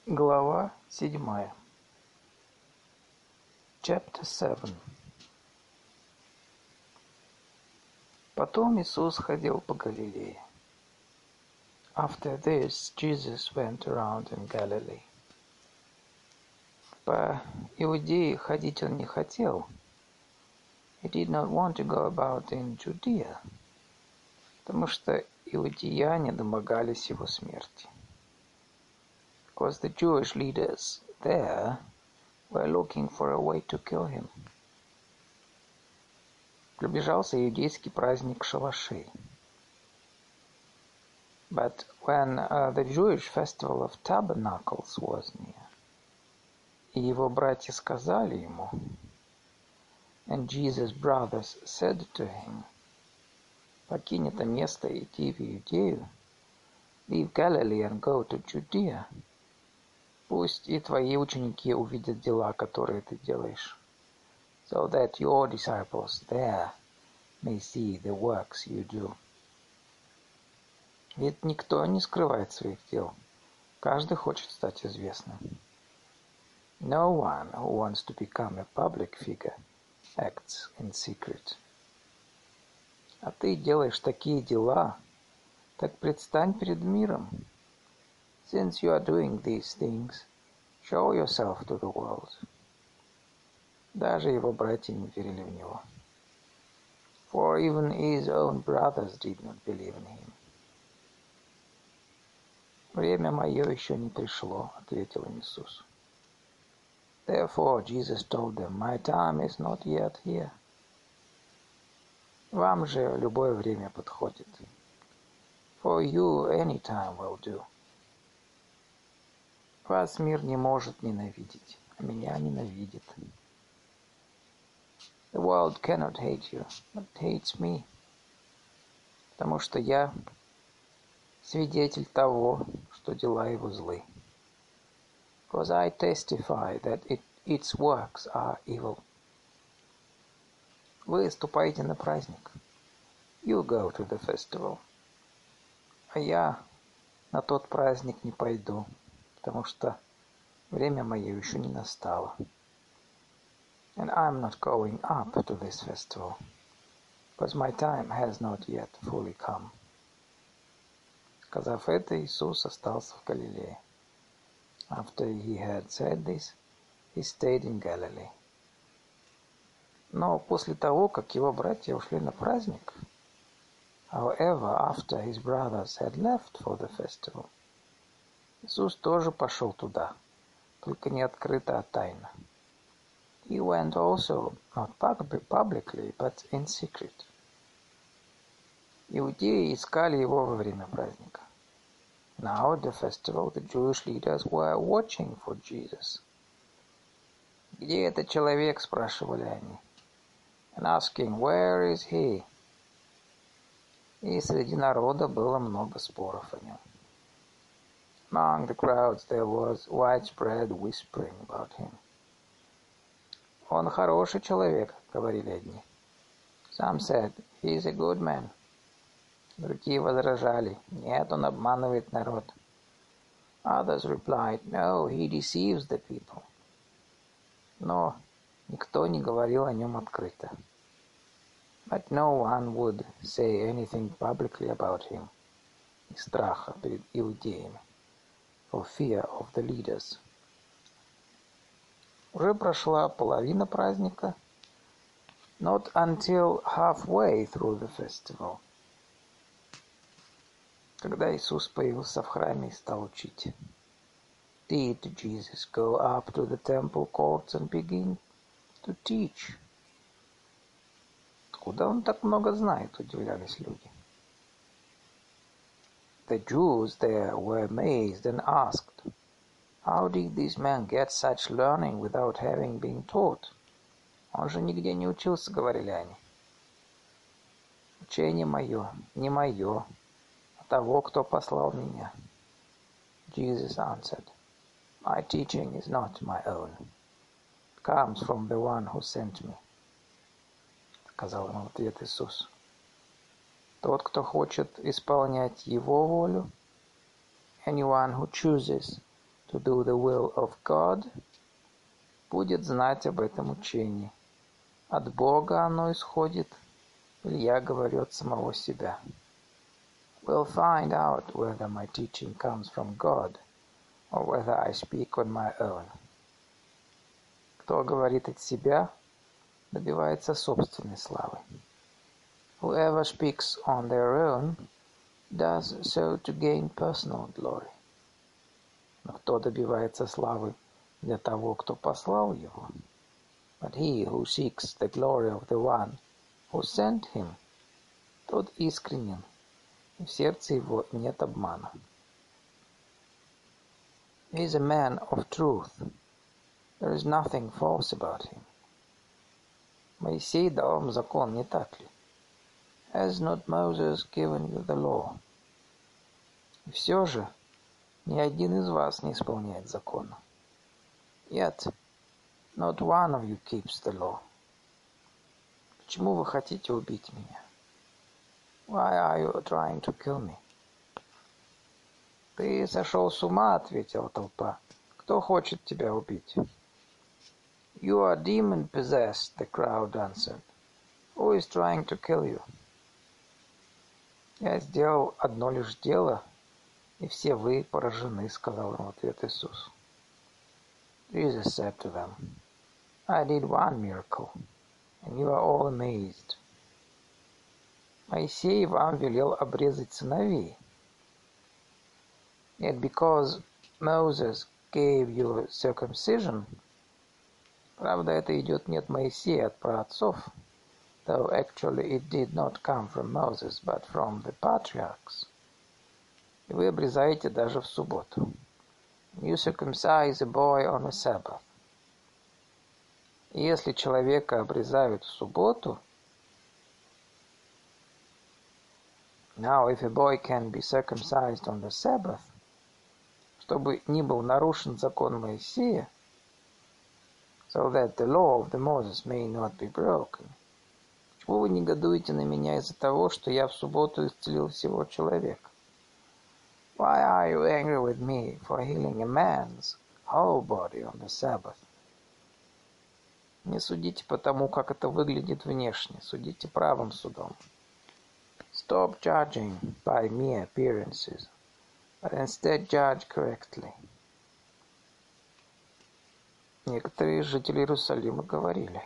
Глава 7. Chapter 7. Потом Иисус ходил по Галилее. After this, Jesus went around in Galilee. По Иудее ходить он не хотел. He did not want to go about in Judea, потому что иудеяне домогались его смерти. Because the Jewish leaders there were looking for a way to kill him. Приближался иудейский праздник шалашей. But when the Jewish festival of tabernacles was near, и его братья сказали ему, and Jesus' brothers said to him, покинь это место и иди в Иудею, leave Galilee and go to Judea, пусть и твои ученики увидят дела, которые ты делаешь, so that your disciples there may see the works you do. Ведь никто не скрывает своих дел. Каждый хочет стать известным. No one who wants to become a public figure acts in secret. А ты делаешь такие дела, так предстань перед миром. Since you are doing these things, show yourself to the world. Даже его братья не верили в него. For even his own brothers did not believe in him. Время мое еще не пришло, ответил им Иисус. Therefore Jesus told them, my time is not yet here. Вам же любое время подходит. For you any time will do. Вас мир не может ненавидеть, а меня ненавидит. The world cannot hate you, but hates me. Потому что я свидетель того, что дела его злы. Because I testify that its works are evil. Вы ступаете на праздник. You go to the festival. А я на тот праздник не пойду, потому что время мое еще не настало. And I'm not going up to this festival, because my time has not yet fully come. Сказав это, Иисус остался в Галилее. After he had said this, he stayed in Galilee. Но после того, как его братья ушли на праздник, however, after his brothers had left for the festival, Иисус тоже пошел туда, только не открыто, а тайно. He went also, not publicly, but in secret. Иудеи искали его во время праздника. Now at the festival, the Jewish leaders were watching for Jesus. «Где этот человек?» – спрашивали они. And asking, where is he? И среди народа было много споров о нем. Among the crowds there was widespread whispering about him. Он хороший человек, говорили одни. Some said, he is a good man. Другие возражали, нет, он обманывает народ. Others replied, no, he deceives the people. Но никто не говорил о нем открыто. But no one would say anything publicly about him. Из страха перед иудеями. For fear of the leaders. Уже прошла половина праздника. Not until halfway through the festival. Когда Иисус появился в храме и стал учить. Did Jesus go up to the temple courts and begin to teach? Откуда он так много знает, удивлялись люди. The Jews there were amazed and asked, how did this man get such learning without having been taught? Он же нигде не учился, говорили они. Учение мое, не мое, а того, кто послал меня. Jesus answered, my teaching is not my own. It comes from the one who sent me. Сказал ему в ответ Иисус. Тот, кто хочет исполнять его волю, anyone who chooses to do the will of God, будет знать об этом учении. От Бога оно исходит, или я говорю от самого себя. Will find out whether my teaching comes from God, or whether I speak on my own. Кто говорит от себя, добивается собственной славы. Whoever speaks on their own does so to gain personal glory. Но кто добивается славы для того, кто послал его? But he who seeks the glory of the one who sent him, тот искренен, и в сердце его нет обмана. He is a man of truth. There is nothing false about him. Моисей дал вам закон, не так ли? Has not Moses given you the law? И все же ни один из вас не исполняет закона. Yet not one of you keeps the law. Почему вы хотите убить меня? Why are you trying to kill me? Ты сошел с ума, ответила толпа. Кто хочет тебя убить? You are demon-possessed, the crowd answered. Who is trying to kill you? Я сделал одно лишь дело, и все вы поражены, сказал им в ответ Иисус. Jesus said to them, I did one miracle, and you are all amazed. Моисей вам велел обрезать сыновей. Yet because Moses gave you circumcision, правда, это идет не от Моисея, а от праотцов, though actually it did not come from Moses, but from the patriarchs. И вы обрезаете даже в субботу. You circumcise a boy on a Sabbath. И если человека обрезают в субботу, now if a boy can be circumcised on the Sabbath, чтобы не был нарушен закон Моисея, so that the law of the Moses may not be broken. Почему вы негодуете на меня из-за того, что я в субботу исцелил всего человека? Why are you angry with me for healing a man's whole body on the Sabbath? Не судите по тому, как это выглядит внешне, судите правым судом. Stop judging by mere appearances, but instead judge correctly. Некоторые жители Иерусалима говорили.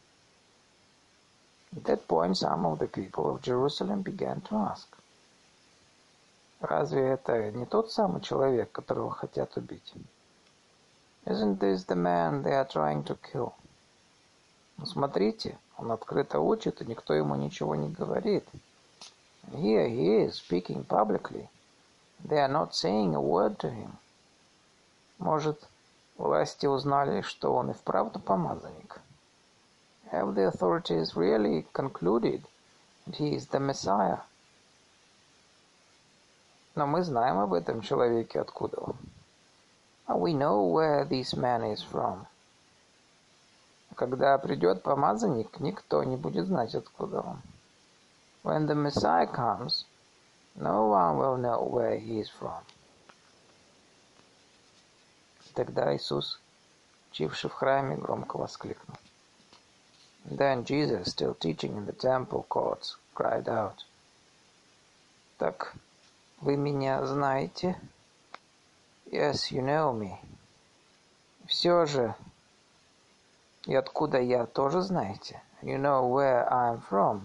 At that point, some of the people of Jerusalem began to ask. Разве это не тот самый человек, которого хотят убить? Isn't this the man they are trying to kill? Ну, смотрите, он открыто учит, и никто ему ничего не говорит. And here he is, speaking publicly. They are not saying a word to him. Может, власти узнали, что он и вправду помазанник? Have the authorities really concluded that he is the Messiah? Но мы знаем об этом человеке, откуда он. And we know where this man is from. Когда придет помазанник, никто не будет знать, откуда он. When the Messiah comes, no one will know where he is from. Тогда Иисус, учивший в храме, громко воскликнул. Then Jesus, still teaching in the temple courts, cried out. Так вы меня знаете? Yes, you know me. Все же, и откуда я тоже знаете? You know where I am from.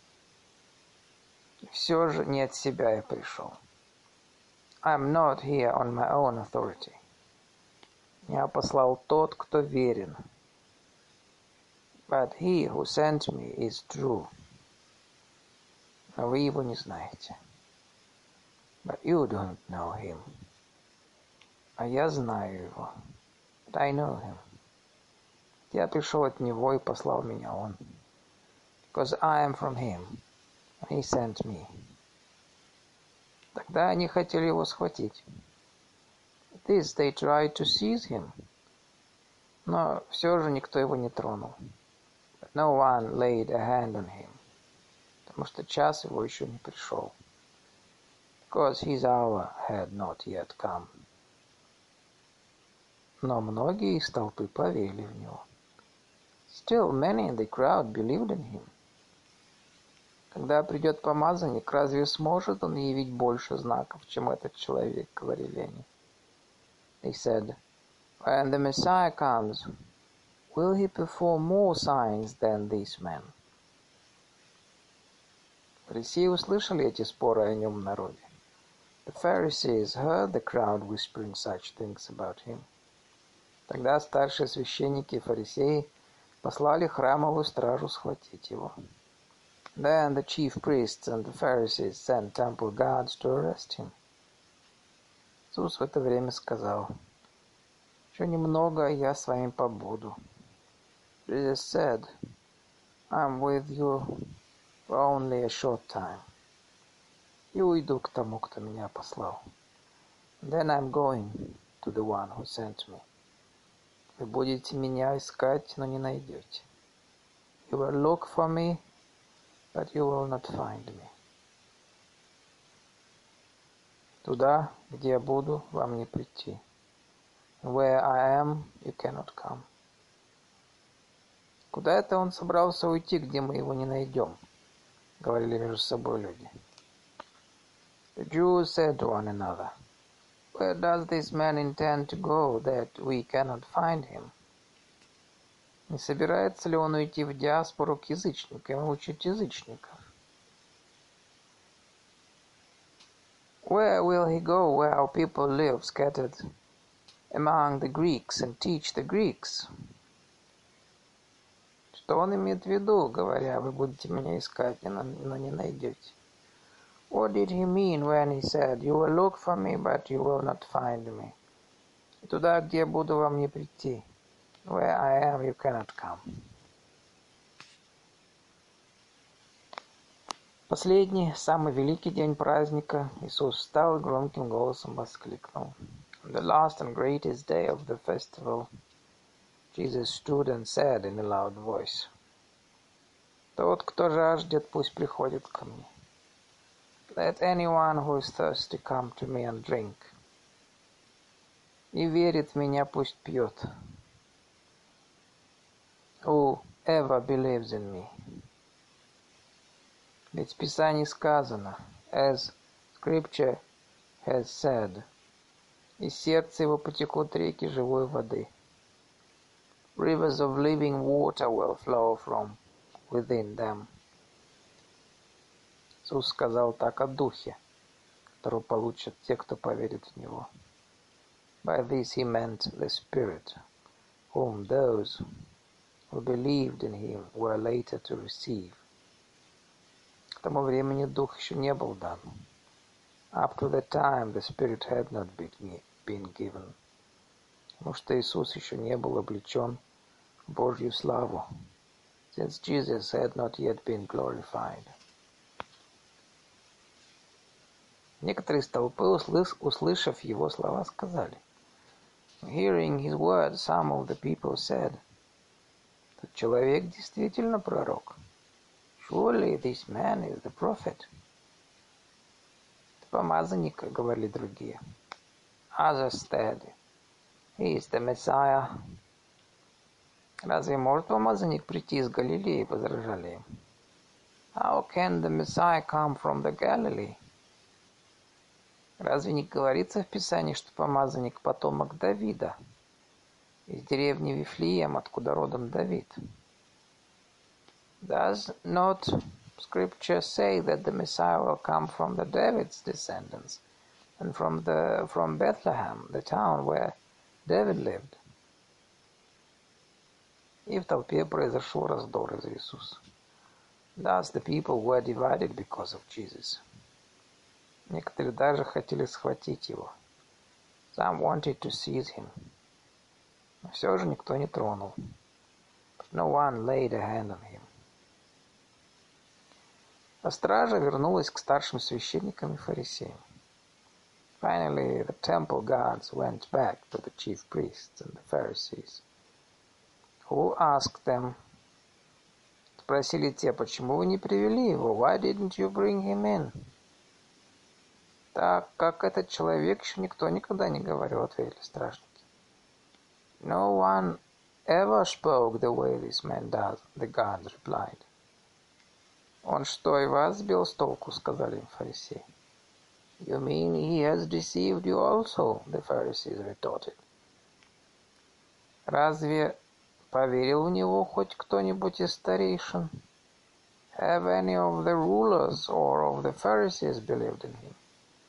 Все же не от себя я пришел. I am not here on my own authority. Меня послал тот, кто верен. But he who sent me is true. Но вы его не знаете. But you don't know him. А я знаю его. But I know him. Я пришел от него и послал меня он. Because I am from him, and he sent me. Тогда они хотели его схватить. This they tried to seize him. Но все же никто его не тронул. But no one laid a hand on him. Потому что час его еще не пришел. Because his hour had not yet come. Но многие из толпы поверили в него. Still, many in the crowd believed in him. Когда придет помазанник, разве сможет он явить больше знаков, чем этот человек, говорили они. They said, when the Messiah comes, will he perform more signs than these men? Фарисеи услышали эти споры о нем в народе. The Pharisees heard the crowd whispering such things about him. Тогда старшие священники и фарисеи послали храмовую стражу схватить его. Then the chief priests and the Pharisees sent temple guards to arrest him. Иисус в это время сказал, «Еще немного, я с вами побуду». Jesus said, I'm with you for only a short time. И уйду к тому, кто меня послал. Then I'm going to the one who sent me. Вы будете меня искать, но не найдете. You will look for me, but you will not find me. Туда, где я буду, вам не прийти. Where I am, you cannot come. Куда это он собрался уйти, где мы его не найдем? Говорили между собой люди. The Jews said to one another, where does this man intend to go that we cannot find him? Не собирается ли он уйти в диаспору к язычникам и учить язычников? Where will he go where our people live scattered among the Greeks and teach the Greeks? Что он имеет в виду, говоря, вы будете меня искать, но не найдете? What did he mean when he said, you will look for me, but you will not find me? И туда, где я буду, вам не прийти. Where I am, you cannot come. Последний, самый великий день праздника, Иисус встал и громким голосом воскликнул. On the last and greatest day of the festival, Jesus stood and said in a loud voice, «Тот, кто жаждет, пусть приходит ко мне. Let anyone who is thirsty come to me and drink. И верит в меня, пусть пьет. Whoever believes in me». Ведь в Писании сказано, as Scripture has said, из сердца его потекут реки живой воды. Rivers of living water will flow from within them. Иисус сказал так о Духе, которого получат те, кто поверит в Него. By this he meant the Spirit, whom those who believed in him were later to receive. К тому времени Дух еще не был дан. Up to that time the Spirit had not been given. Потому что Иисус еще не был облечен в Божью славу, since Jesus had not yet been glorified. Некоторые из толпы, услышав его слова, сказали, hearing his words, some of the people said, «Этот человек действительно пророк. Surely this man is the prophet». «Это помазанник», — говорили другие. Others said, he is the Messiah. «Разве может помазанник прийти из Галилеи?» — возражали им. How can the Messiah come from the Galilee? Разве не говорится в Писании, что помазанник потомок Давида, из деревни Вифлеем, откуда родом Давид? Does not Scripture say that the Messiah will come from the David's descendants and from Bethlehem, the town where David lived? И в толпе произошел раздор из-за Иисуса. Thus the people were divided because of Jesus. Некоторые даже хотели схватить его. Some wanted to seize him. Но все же никто не тронул. But no one laid a hand on him. А стража вернулась к старшим священникам и фарисеям. Finally, the temple guards went back to the chief priests and the Pharisees. Who asked them? Спросили те, почему вы не привели его? Why didn't you bring him in? Так как этот человек еще никто никогда не говорил, ответили стражники. No one ever spoke the way this man does, the guards replied. Он что, и вас сбил с толку, сказали им фарисеи. You mean he has deceived you also, the Pharisees retorted. Разве поверил в него хоть кто-нибудь из старейшин? Have any of the rulers or of the Pharisees believed in him?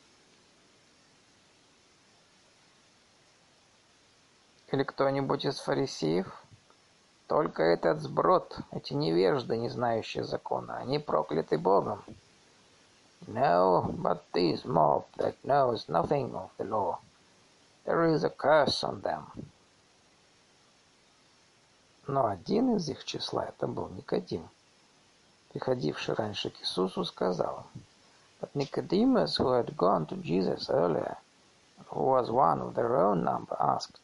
Или кто-нибудь из фарисеев? Только этот сброд, эти невежды, не знающие закона, они прокляты Богом. No, but this mob that knows nothing of the law, there is a curse on them. Но один из их числа, это был Никодим, приходивший раньше к Иисусу, сказал, but Nicodemus, who had gone to Jesus earlier, who was one of their own number, asked,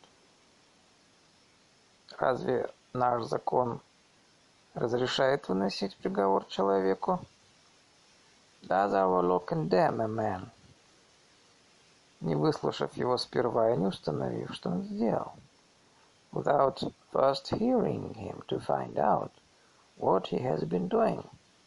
разве наш закон разрешает выносить приговор человеку? Does our law condemn a man? Не выслушав его сперва и не установив, что он сделал. Without first hearing him to find out what he has been doing.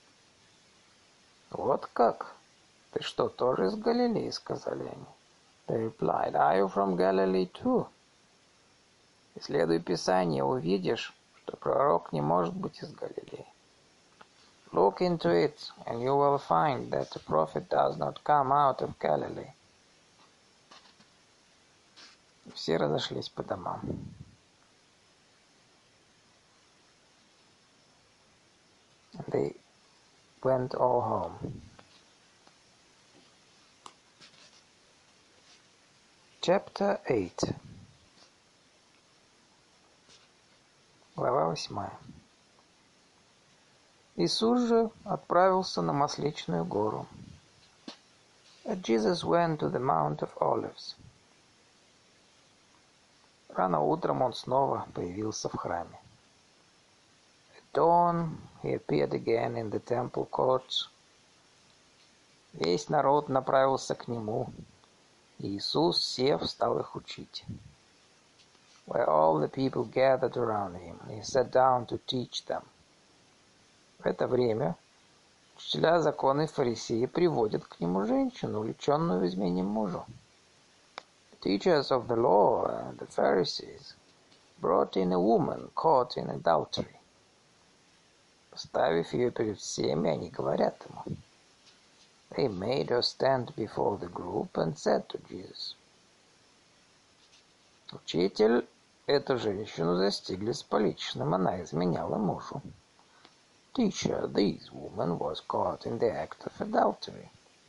Вот как? Ты что, тоже из Галилеи, сказали они. They replied, are you from Galilee too? Исследуй Писание, увидишь, что пророк не может быть из Галилеи. Look into it, and you will find that the prophet does not come out of Galilee. Все разошлись по домам. And they went all home. Chapter 8. Глава 8. Иисус же отправился на Масличную гору. Jesus went to the Mount of Olives. Рано утром он снова появился в храме. At dawn he appeared again in the temple courts. Весь народ направился к нему, и Иисус, сев, стал их учить. Where all the people gathered around him, he sat down to teach them. В это время учителя закона и фарисеи приводят к нему женщину, увлеченную в измене мужу. The teachers of the law and the Pharisees brought in a woman caught in adultery. Поставив ее перед всеми, они говорят ему. They made her stand before the group and said to Jesus, Учитель, эту женщину застигли с поличным, она изменяла мужу. Teacher, this woman was caught in the act of adultery.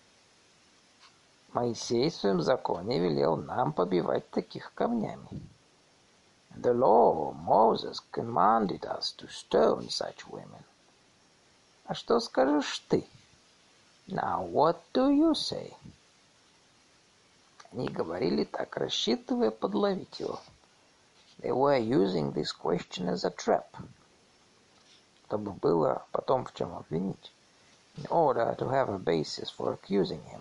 Моисей в своем законе велел нам побивать таких камнями. The law, Moses commanded us to stone such women. А что скажешь ты? Now, what do you say? Они говорили так, рассчитывая подловить его. They were using this question as a trap. Чтобы было потом в чем обвинить. In order to have a basis for accusing him.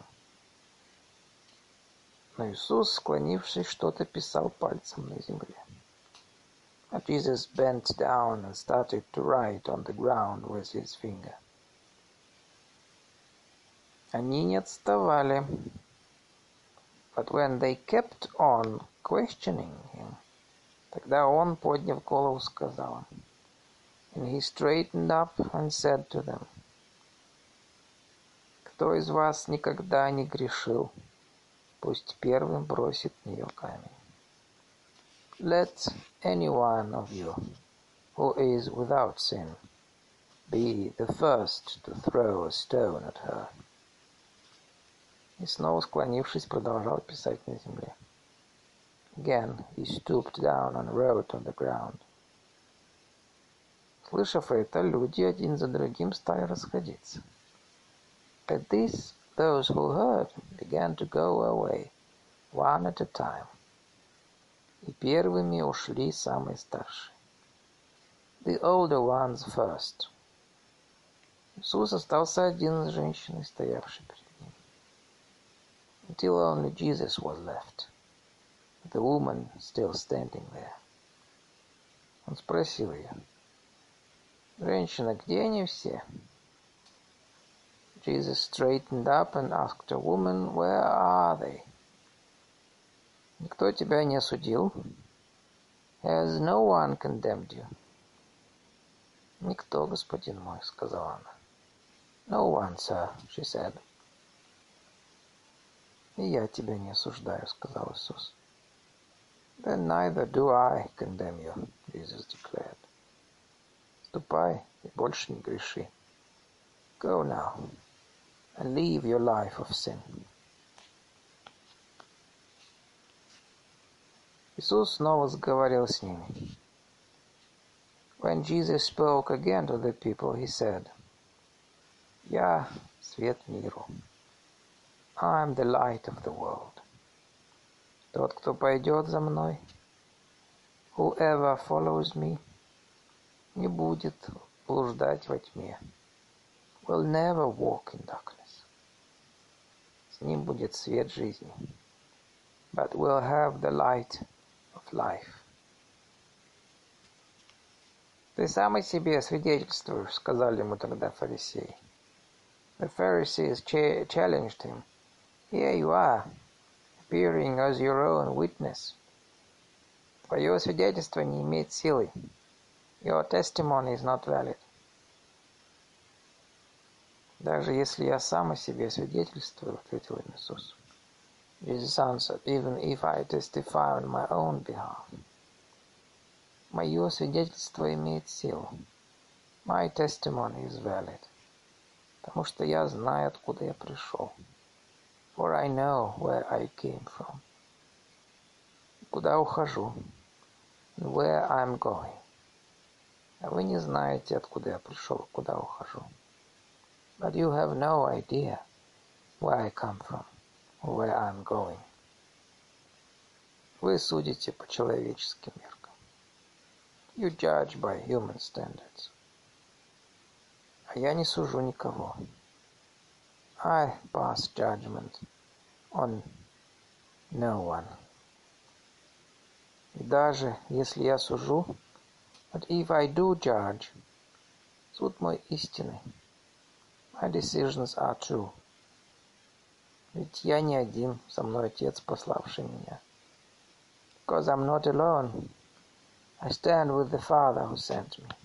Но Иисус, склонившись, что-то писал пальцем на земле. But Jesus bent down and started to write on the ground with his finger. Они не отставали. But when they kept on questioning him, тогда он, подняв голову, сказал им. And he straightened up and said to them, кто из вас никогда не грешил, пусть первым бросит в нее камень. Let any one of you who is without sin be the first to throw a stone at her. И снова склонившись, продолжал писать на земле. Again he stooped down and wrote on the ground. Слышав это, люди один за другим стали расходиться. At this, those who heard began to go away, one at a time. И первыми ушли самые старшие. The older ones first. Иисус остался один с женщиной, стоявшей перед ним. Until only Jesus was left, the woman still standing there. Он спросил ее: «Женщина, где они все?» Jesus straightened up and asked a woman, «Where are they?» «Никто тебя не осудил?» «Has no one condemned you?» «Никто, господин мой», — сказала она. «No one, sir», — she said. «И я тебя не осуждаю», — сказал Иисус. «Then neither do I condemn you», — Jesus declared. «Ступай и больше не греши. Go now and leave your life of sin». Иисус снова заговорил с ними. When Jesus spoke again to the people, he said, «Я свет миру. I am the light of the world. Тот, кто пойдет за мной, whoever follows me, не будет блуждать во тьме, will never walk in darkness. С ним будет свет жизни, but will have the light of life». «Ты сам о себе свидетельствуешь», — сказали ему тогда фарисеи. The Pharisees challenged him. «Here you are, appearing as your own witness. Твое свидетельство не имеет силы. Your testimony is not valid». «Даже если я сам о себе свидетельствую», — ответил им Иисус. Jesus answered, «Even if I testify on my own behalf». Мое свидетельство имеет силу. My testimony is valid. Потому что я знаю, откуда я пришел. For I know where I came from. Куда ухожу. And where I'm going. А вы не знаете, откуда я пришел, куда ухожу. But you have no idea where I come from, or where I'm going. Вы судите по человеческим меркам. You judge by human standards. А я не сужу никого. I pass judgment on no one. И даже если я сужу, but if I do judge, суд мой истинный. My decisions are true. Ведь я не один, со мной Отец, пославший меня. Because I'm not alone. I stand with the Father who sent me.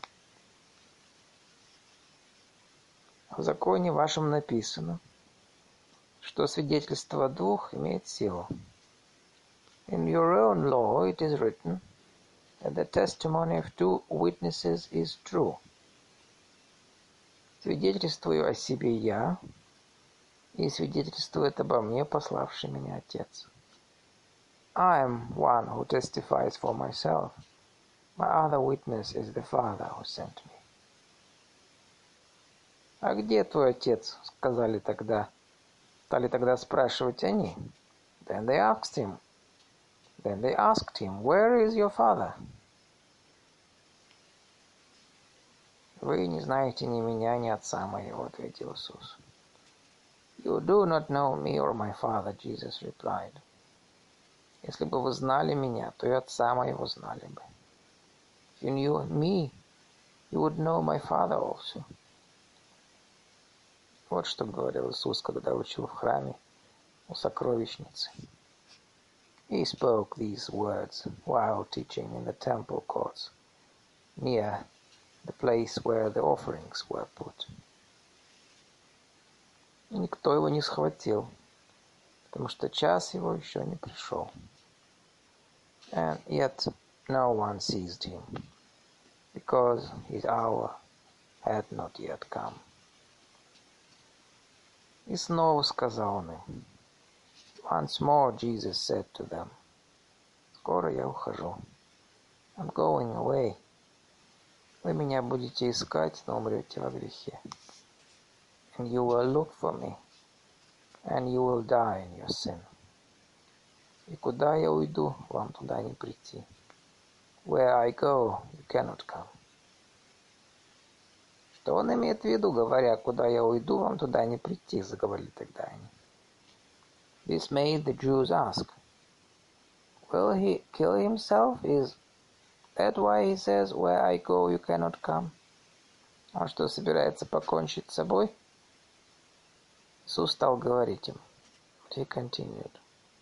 В законе вашем написано, что свидетельство двух имеет силу. In your own law it is written that the testimony of two witnesses is true. Свидетельствую о себе я, и свидетельствует обо мне пославший меня Отец. I am one who testifies for myself. My other witness is the Father who sent me. «А где твой отец?» — стали тогда спрашивать они. Then they asked him, «Where is your father?» «Вы не знаете ни меня, ни отца моего», — ответил Иисус. «You do not know me or my father», — Jesus replied. «Если бы вы знали меня, то и отца моего знали бы. If you knew me, you would know my father also». Вот что говорил Иисус, когда учил в храме у сокровищницы. He spoke these words while teaching in the temple courts, near the place where the offerings were put. И никто его не схватил, потому что час его еще не пришел. And yet no one seized him, because his hour had not yet come. И снова сказал он им. Once more Jesus said to them, «Скоро я ухожу. I'm going away. Вы меня будете искать, но умрете во грехе. And you will look for me, and you will die in your sin. И куда я уйду, вам туда не прийти. Where I go, you cannot come». Что он имеет в виду, говоря, «Куда я уйду, вам туда не прийти», — заговорили тогда они. This made the Jews ask, «Will he kill himself? Is that why he says, where I go, you cannot come? Он что, собирается покончить с собой? Иисус стал говорить им. He continued.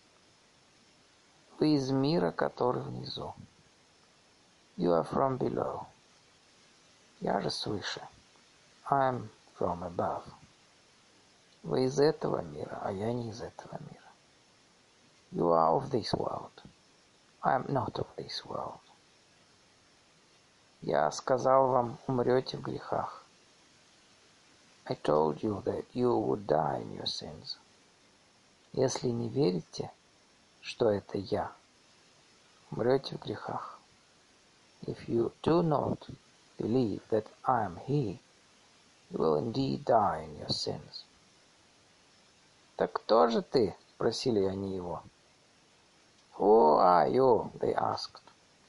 Вы из мира, который внизу. You are from below. Я же свыше. I am from above. Вы из этого мира, а я не из этого мира. You are of this world. I am not of this world. Я сказал вам, умрете в грехах. I told you that you would die in your sins. Если не верите, что это я, умрете в грехах. If you do not believe that I am He, you will indeed die in your sins. Так кто же ты? Спросили они его. Who are you? They asked.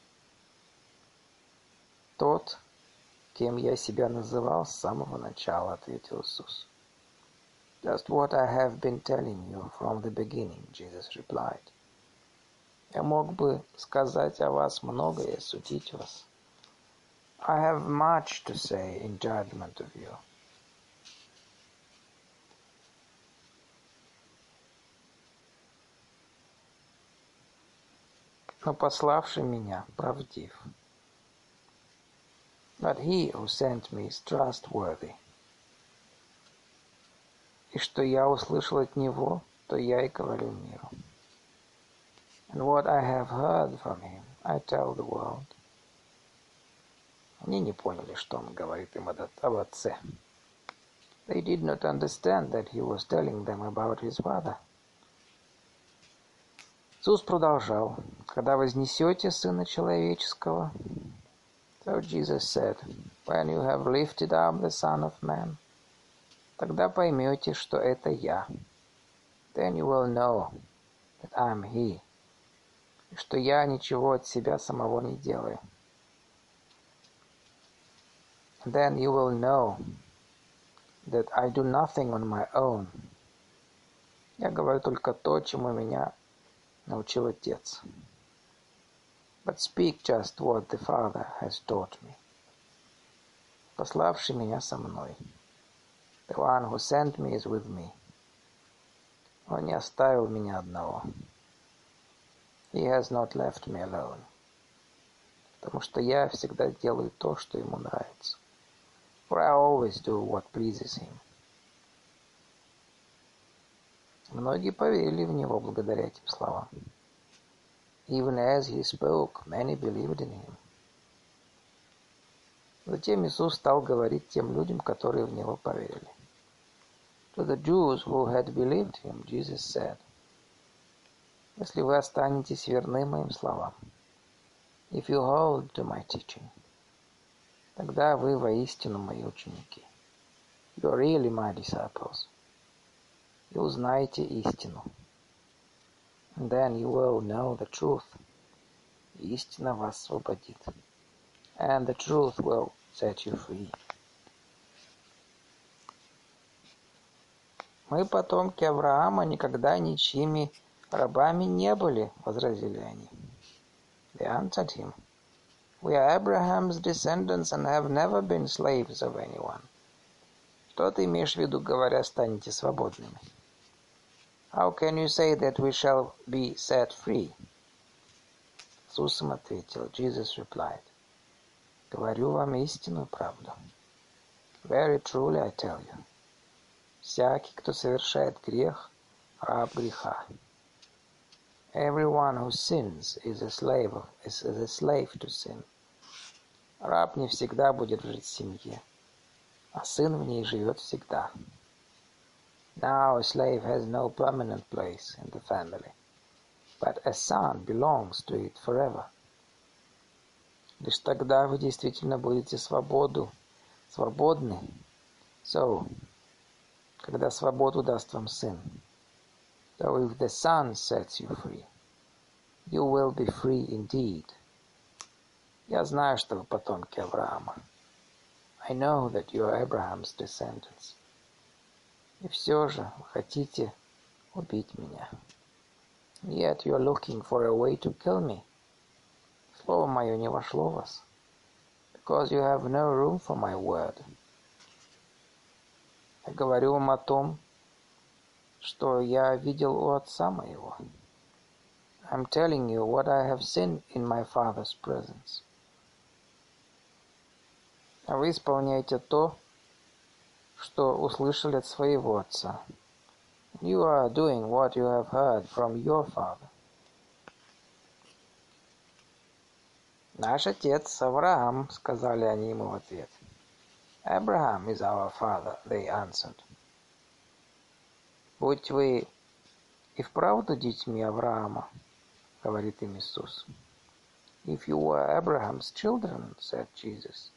Тот, кем я себя называл с самого начала, ответил Иисус. Just what I have been telling you from the beginning, Jesus replied. Я мог бы сказать о вас многое и судить вас. I have much to say in judgment of you. Но пославший меня правдив. But he who sent me is trustworthy. И что я услышал от него, то я и говорю миру. And what I have heard from him, I tell the world. Они не поняли, что он говорит им об отце. They did not understand that he was telling them about his father. Иисус продолжал. Когда вознесете Сына Человеческого, so Jesus said, when you have lifted up the Son of Man, тогда поймете, что это я. Then you will know that I am He, и что я ничего от себя самого не делаю. Then you will know that I do nothing on my own. Я говорю только то, чему меня научил Отец. But speak just what the Father has taught me. Пославший меня со мной. The one who sent me is with me. Он не оставил меня одного. He has not left me alone. Потому что я всегда делаю то, что ему нравится. For I always do what pleases him. Многие поверили в него благодаря этим словам. Even as he spoke, many believed in him. Затем Иисус стал говорить тем людям, которые в него поверили. To the Jews who had believed him, Jesus said, если вы останетесь верны моим словам, if you hold to my teaching, тогда вы воистину мои ученики. You are really my disciples. И узнаете истину. And then you will know the truth. Истина вас освободит. And the truth will set you free. Мы, потомки Авраама, никогда ничьими рабами не были, возразили они. They answered him, we are Abraham's descendants and have never been slaves of anyone. Что ты имеешь в виду, говоря, станете свободными? How can you say that we shall be set free? Иисус им ответил, Jesus replied, говорю вам истинную правду. Very truly I tell you, всякий, кто совершает грех, раб греха. Everyone who sins is a slave to sin. Раб не всегда будет жить в семье, а сын в ней живет всегда. Now a slave has no permanent place in the family, but a son belongs to it forever. Лишь тогда вы действительно будете свободны. So, когда свободу даст вам сын. So if the Son sets you free, you will be free indeed. Я знаю, что вы потомки Авраама. I know that you are Abraham's descendants. И все же вы хотите убить меня. Yet you are looking for a way to kill me. слово мое не вошло в вас, because you have no room for my word. Я говорю вам о том, что я видел у Отца моего. I'm telling you what I have seen in my Father's presence. А вы исполняете то, что услышали от своего Отца. You are doing what you have heard from your father. Наш отец Авраам, сказали они ему в ответ. Abraham is our father, they answered. Будь вы и вправду детьми Авраама, говорит им Иисус. If you were Abraham's children, said Jesus,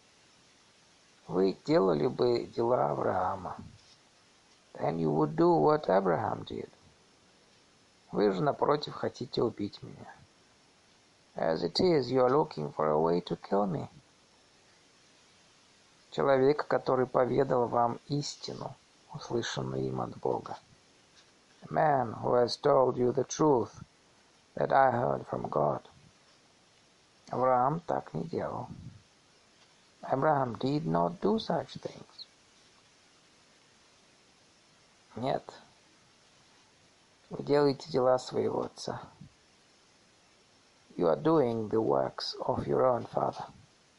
вы делали бы дела Авраама. Then you would do what Abraham did. Вы же, напротив, хотите убить меня. As it is, you are looking for a way to kill me. Человек, который поведал вам истину, услышанную им от Бога. A man who has told you the truth that I heard from God. Авраам так не делал. Abraham did not do such things. Нет, вы делаете дела своего отца. You are doing the works of your own father.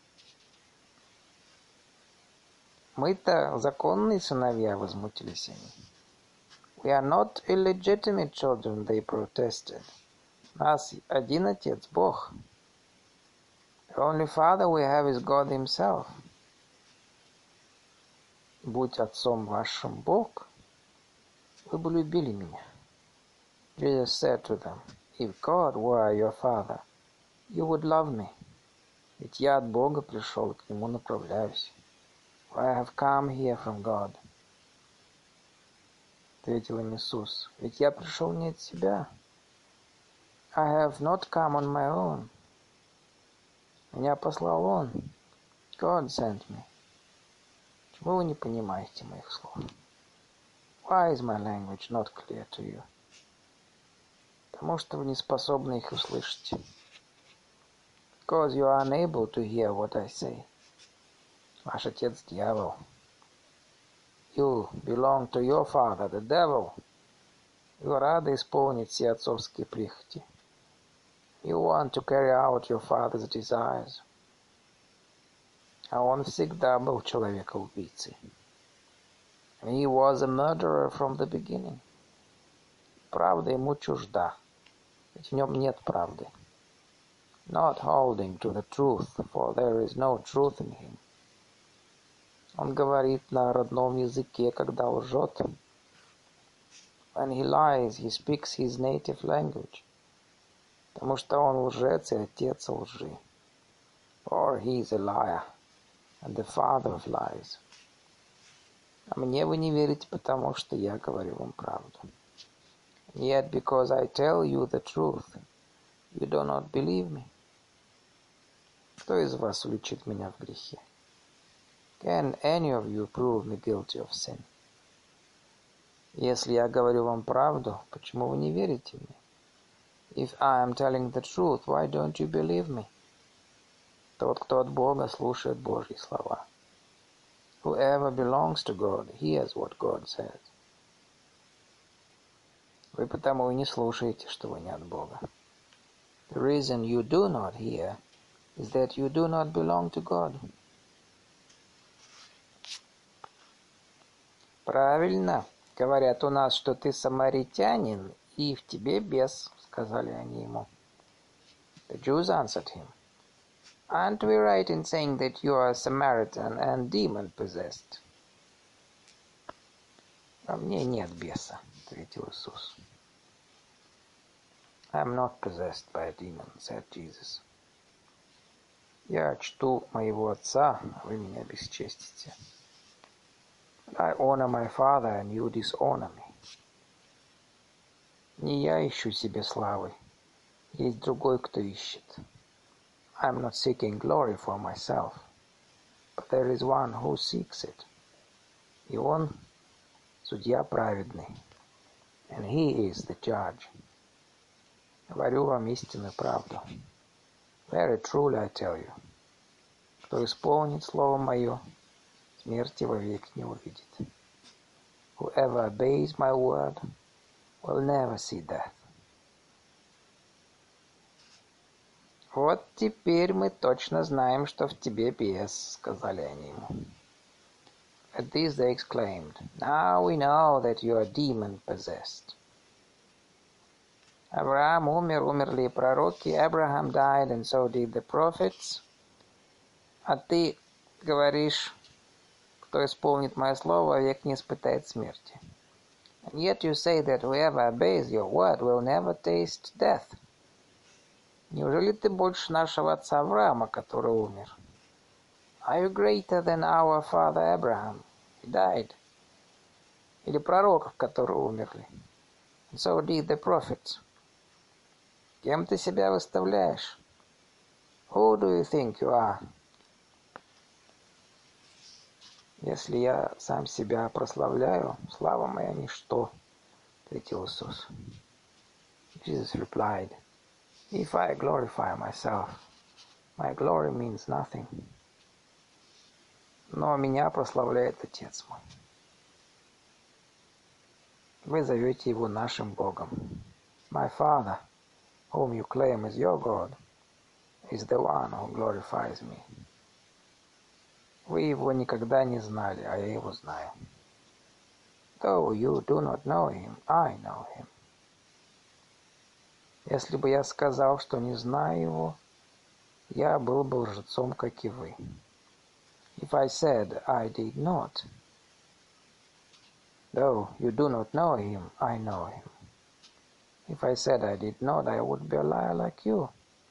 Мы-то законные сыновья, возмутились они. We are not illegitimate children, they protested. У нас один отец, Бог. The only father we have is God himself. Будь отцом вашим Бог, вы бы любили меня. Jesus said to them, if God were your father, you would love me. Ведь я от Бога пришел, к Нему направляюсь. For I have come here from God. Ответил им Иисус, ведь я пришел не от себя. I have not come on my own. Меня послал Он. God sent me. Почему вы не понимаете моих слов? Why is my language not clear to you? Потому что вы не способны их услышать. Because you are unable to hear what I say. Ваш отец дьявол. You belong to your father, the devil. Вы рады исполнить все отцовские прихоти. You want to carry out your father's desires. А он всегда был человека-убийцей. He was a murderer from the beginning. Правда ему чужда, ведь в нем нет правды. Not holding to the truth, for there is no truth in him. Он говорит на родном языке, когда лжет. When he lies, he speaks his native language. Потому что он лжец и отец лжи. For he is a liar and the father of lies. А мне вы не верите, потому что я говорю вам правду. Yet because I tell you the truth, you do not believe me. Кто из вас уличит меня в грехе? Can any of you prove me guilty of sin? Если я говорю вам правду, почему вы не верите мне? If I am telling the truth, why don't you believe me? Тот, кто от Бога, слушает Божьи слова. Whoever belongs to God hears what God says. Вы потому и не слушаете, что вы не от Бога. The reason you do not hear is that you do not belong to God. Правильно. Говорят у нас, что ты самаритянин, и в тебе бес, сказали они ему. The Jews answered him, aren't we right in saying that you are a Samaritan and demon-possessed? Во мне нет беса, ответил Иисус. I am not possessed by a demon, said Jesus. Я чту моего отца, а вы меня бесчестите. I honor my father, and you dishonor me. Не я ищу себе славы, есть другой, кто ищет. I am not seeking glory for myself, but there is one who seeks it. И он судья праведный, and he is the judge. Говорю вам истинную правду. Very truly I tell you, кто исполнит слово мое, смерти вовек не увидит. Whoever obeys my word will never see death. Вот теперь мы точно знаем, что в тебе бес, сказали они ему. At this they exclaimed, now we know that you are demon-possessed. Авраам умер, умерли и пророки, Abraham died, and so did the prophets. А ты говоришь, кто исполнит мое слово, век не испытает смерти. And yet you say that whoever obeys your word will never taste death. Неужели ты больше нашего отца Авраама, который умер? Are you greater than our father Abraham? He died. Или пророков, которые умерли? And so did the prophets. Кем ты себя выставляешь? Who do you think you are? Если я сам себя прославляю, слава моя ничто, ответил Иисус. Jesus replied, if I glorify myself, my glory means nothing. Но меня прославляет Отец мой. Вы зовете его нашим Богом. My Father, whom you claim is your God, is the one who glorifies me. Вы его никогда не знали, а я его знаю. Though you do not know him, I know him. Если бы я сказал, что не знаю его, я был бы лжецом, как и вы. If I said I did not, though you do not know him, I know him. If I said I did not, I would be a liar like you.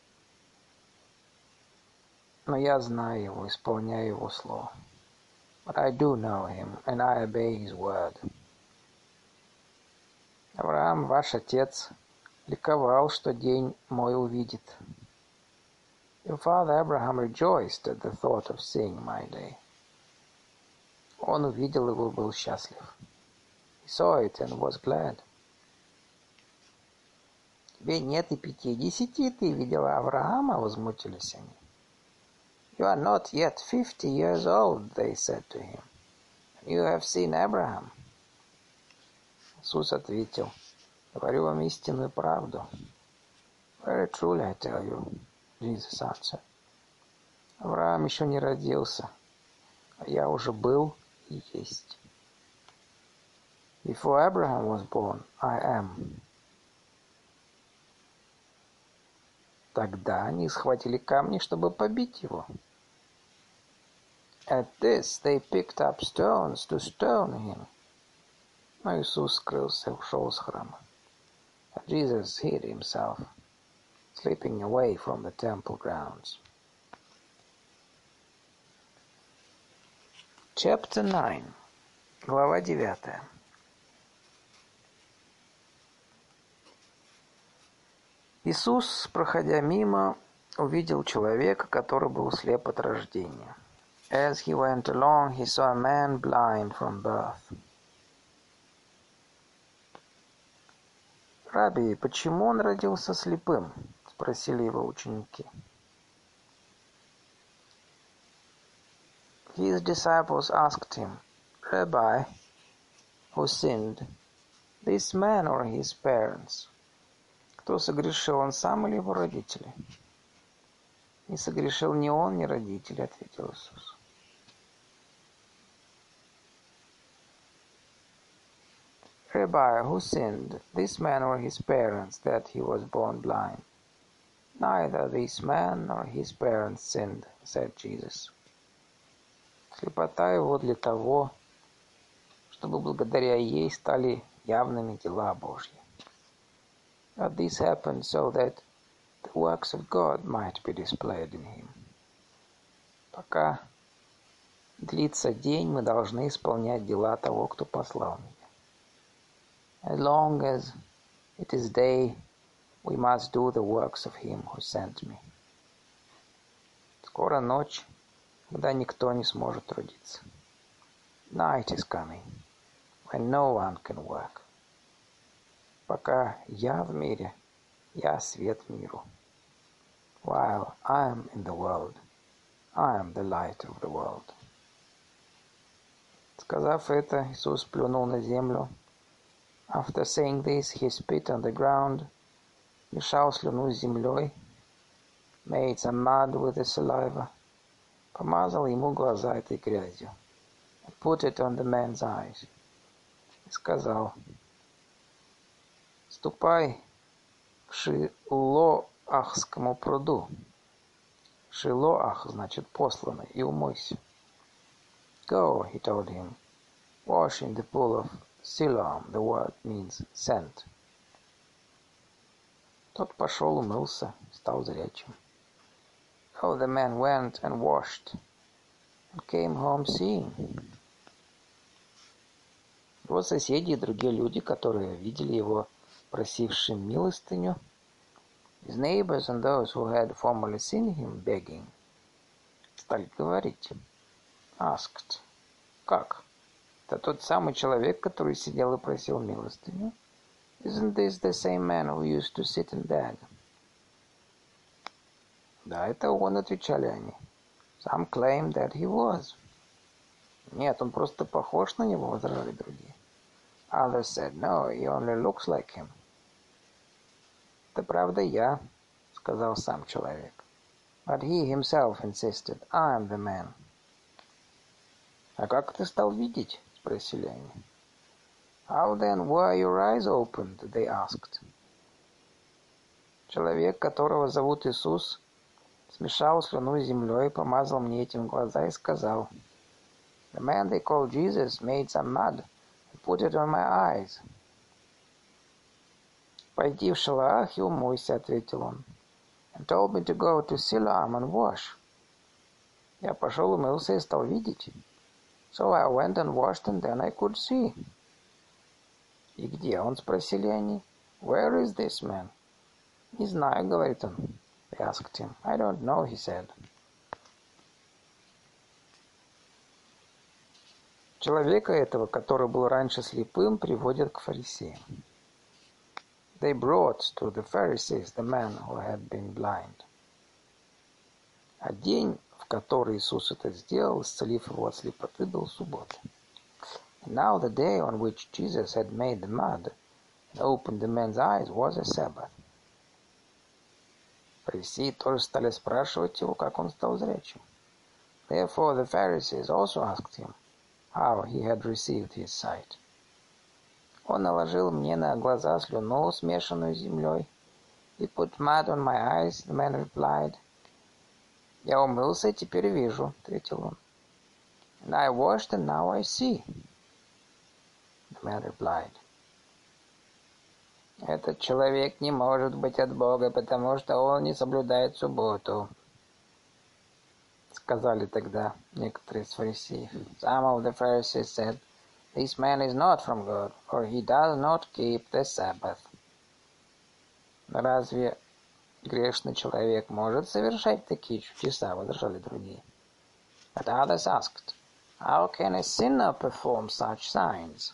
Но я знаю его, исполняю его слово. But I do know him, and I obey his word. Авраам, ваш отец, ликовал, что день мой увидит. Your father Abraham rejoiced at the thought of seeing my day. Он увидел его и был счастлив. He saw it and was glad. Тебе нет и 50, ты видела Авраама, возмутились они. You are not yet 50 years old, they said to him. You have seen Abraham. Иисус ответил, говорю вам истинную правду. Very truly I tell you, Jesus answered. Авраам еще не родился, а я уже был и есть. Before Abraham was born, I am. Тогда они схватили камни, чтобы побить его. At this they picked up stones to stone him. Но Иисус скрылся, ушел из храма. And Jesus hid himself, slipping away from the temple grounds. Chapter 9. Глава 9. Иисус, проходя мимо, увидел человека, который был слеп от рождения. As he went along, he saw a man blind from birth. «Рабби, почему он родился слепым?» — спросили его ученики. His disciples asked him, Rabbi, who sinned, this man or his parents? Кто согрешил, он сам или его родители? Не согрешил ни он, ни родители, ответил Иисус. Rabbi, who sinned, this man or his parents, that he was born blind? Neither this man nor his parents sinned, said Jesus. Слепота его для того, чтобы благодаря ей стали явными дела Божьи. But this happened so that the works of God might be displayed in him. Пока длится день, мы должны исполнять дела того, кто послал меня. As long as it is day, we must do the works of him who sent me. Скоро ночь, когда никто не сможет трудиться. Night is coming, when no one can work. Пока я в мире, я свет миру. while I am in the world. I am the light of the world. Сказав это, Иисус плюнул на землю. After saying this, he spit on the ground, мешал слюну с землей, made some mud with the saliva, помазал ему глаза этой грязью, and put it on the man's eyes, и сказал: «Ступай к Шилоахскому пруду». Шилоах значит посланный, и умойся. Go, he told him, wash in the pool of Siloam. The word means sent. Тот пошел, умылся, стал зрячим. So the man went and washed, and came home seeing. Его соседи и другие люди, которые видели его просившим милостыню, his neighbors and those who had formerly seen him begging, стали говорить, asked, как? Это тот самый человек, который сидел и просил милостыню? Isn't this the same man who used to sit and beg? Да, это он, отвечали они. Some claimed that he was. Нет, он просто похож на него, возражали другие. Others said, no, he only looks like him. Это правда я, сказал сам человек. But he himself insisted, I am the man. А как ты стал видеть? Спросили они. How then were your eyes opened? They asked. Человек, которого зовут Иисус, смешал слюну с землей, помазал мне этим глаза и сказал: The man they call Jesus made some mud and put it on my eyes. Пойди в Шилоах и умойся, ответил он. And told me to go to Siloam and wash. Я пошел, умылся и стал видеть. So I went and washed, and then I could see. И где он? Спросили они. Where is this man? Не знаю, говорит он. They asked him. I don't know, he said. Человека этого, который был раньше слепым, приводят к фарисеям. They brought to the Pharisees the man who had been blind. А день, в который Иисус это сделал, исцелив его от слепоты, был суббота. And now the day on which Jesus had made the mud and opened the man's eyes was a Sabbath. Фарисеи тоже стали спрашивать его, как он стал зрячим. Therefore the Pharisees also asked him how he had received his sight. Он наложил мне на глаза слюну, смешанную с землей. He put mud on my eyes, the man replied. Я умылся и теперь вижу, ответил он. And I washed, and now I see. The man replied. Этот человек не может быть от Бога, потому что он не соблюдает субботу. Сказали тогда некоторые из фарисеев. Some of the Pharisees said, This man is not from God, for he does not keep the Sabbath. Разве грешный человек может совершать такие чудеса? Возражали другие. But others asked, How can a sinner perform such signs?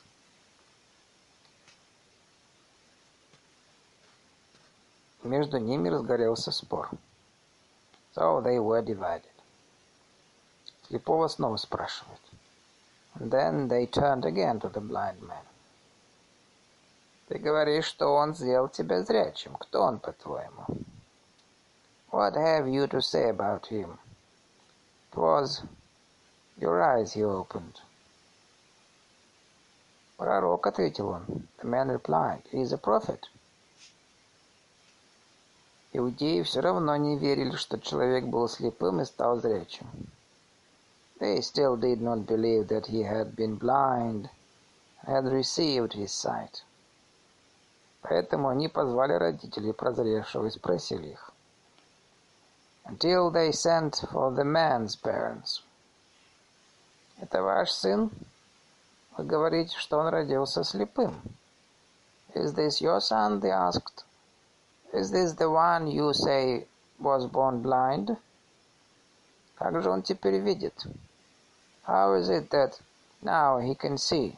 Между ними разгорелся спор. So they were divided. Слепого снова спрашивают. And then they turned again to the blind man. Ты говоришь, что он сделал тебя зрячим. Кто он, по-твоему? What have you to say about him? It was your eyes he opened. Пророк, ответил он. The man replied, he is a prophet. Иудеи все равно не верили, что человек был слепым и стал зрячим. They still did not believe that he had been blind and had received his sight. Поэтому они позвали родителей прозревшего и спросили их. Until they sent for the man's parents. Это ваш сын? Вы говорите, что он родился слепым. Is this your son? They asked. Is this the one you say was born blind? Как же он теперь видит? How is it that now he can see?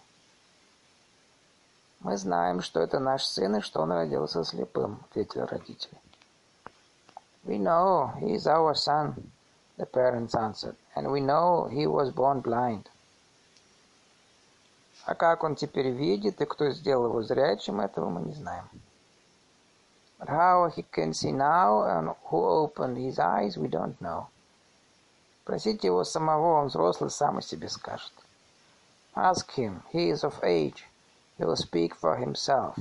Мы знаем, что это наш сын и что он родился слепым, ответили родители. We know he is our son, the parents answered, and we know he was born blind. А как он теперь видит и кто сделал его зрячим, этого мы не знаем. But how he can see now and who opened his eyes, we don't know. Просите его самого, он взрослый, сам о себе скажет. Ask him, he is of age, he will speak for himself.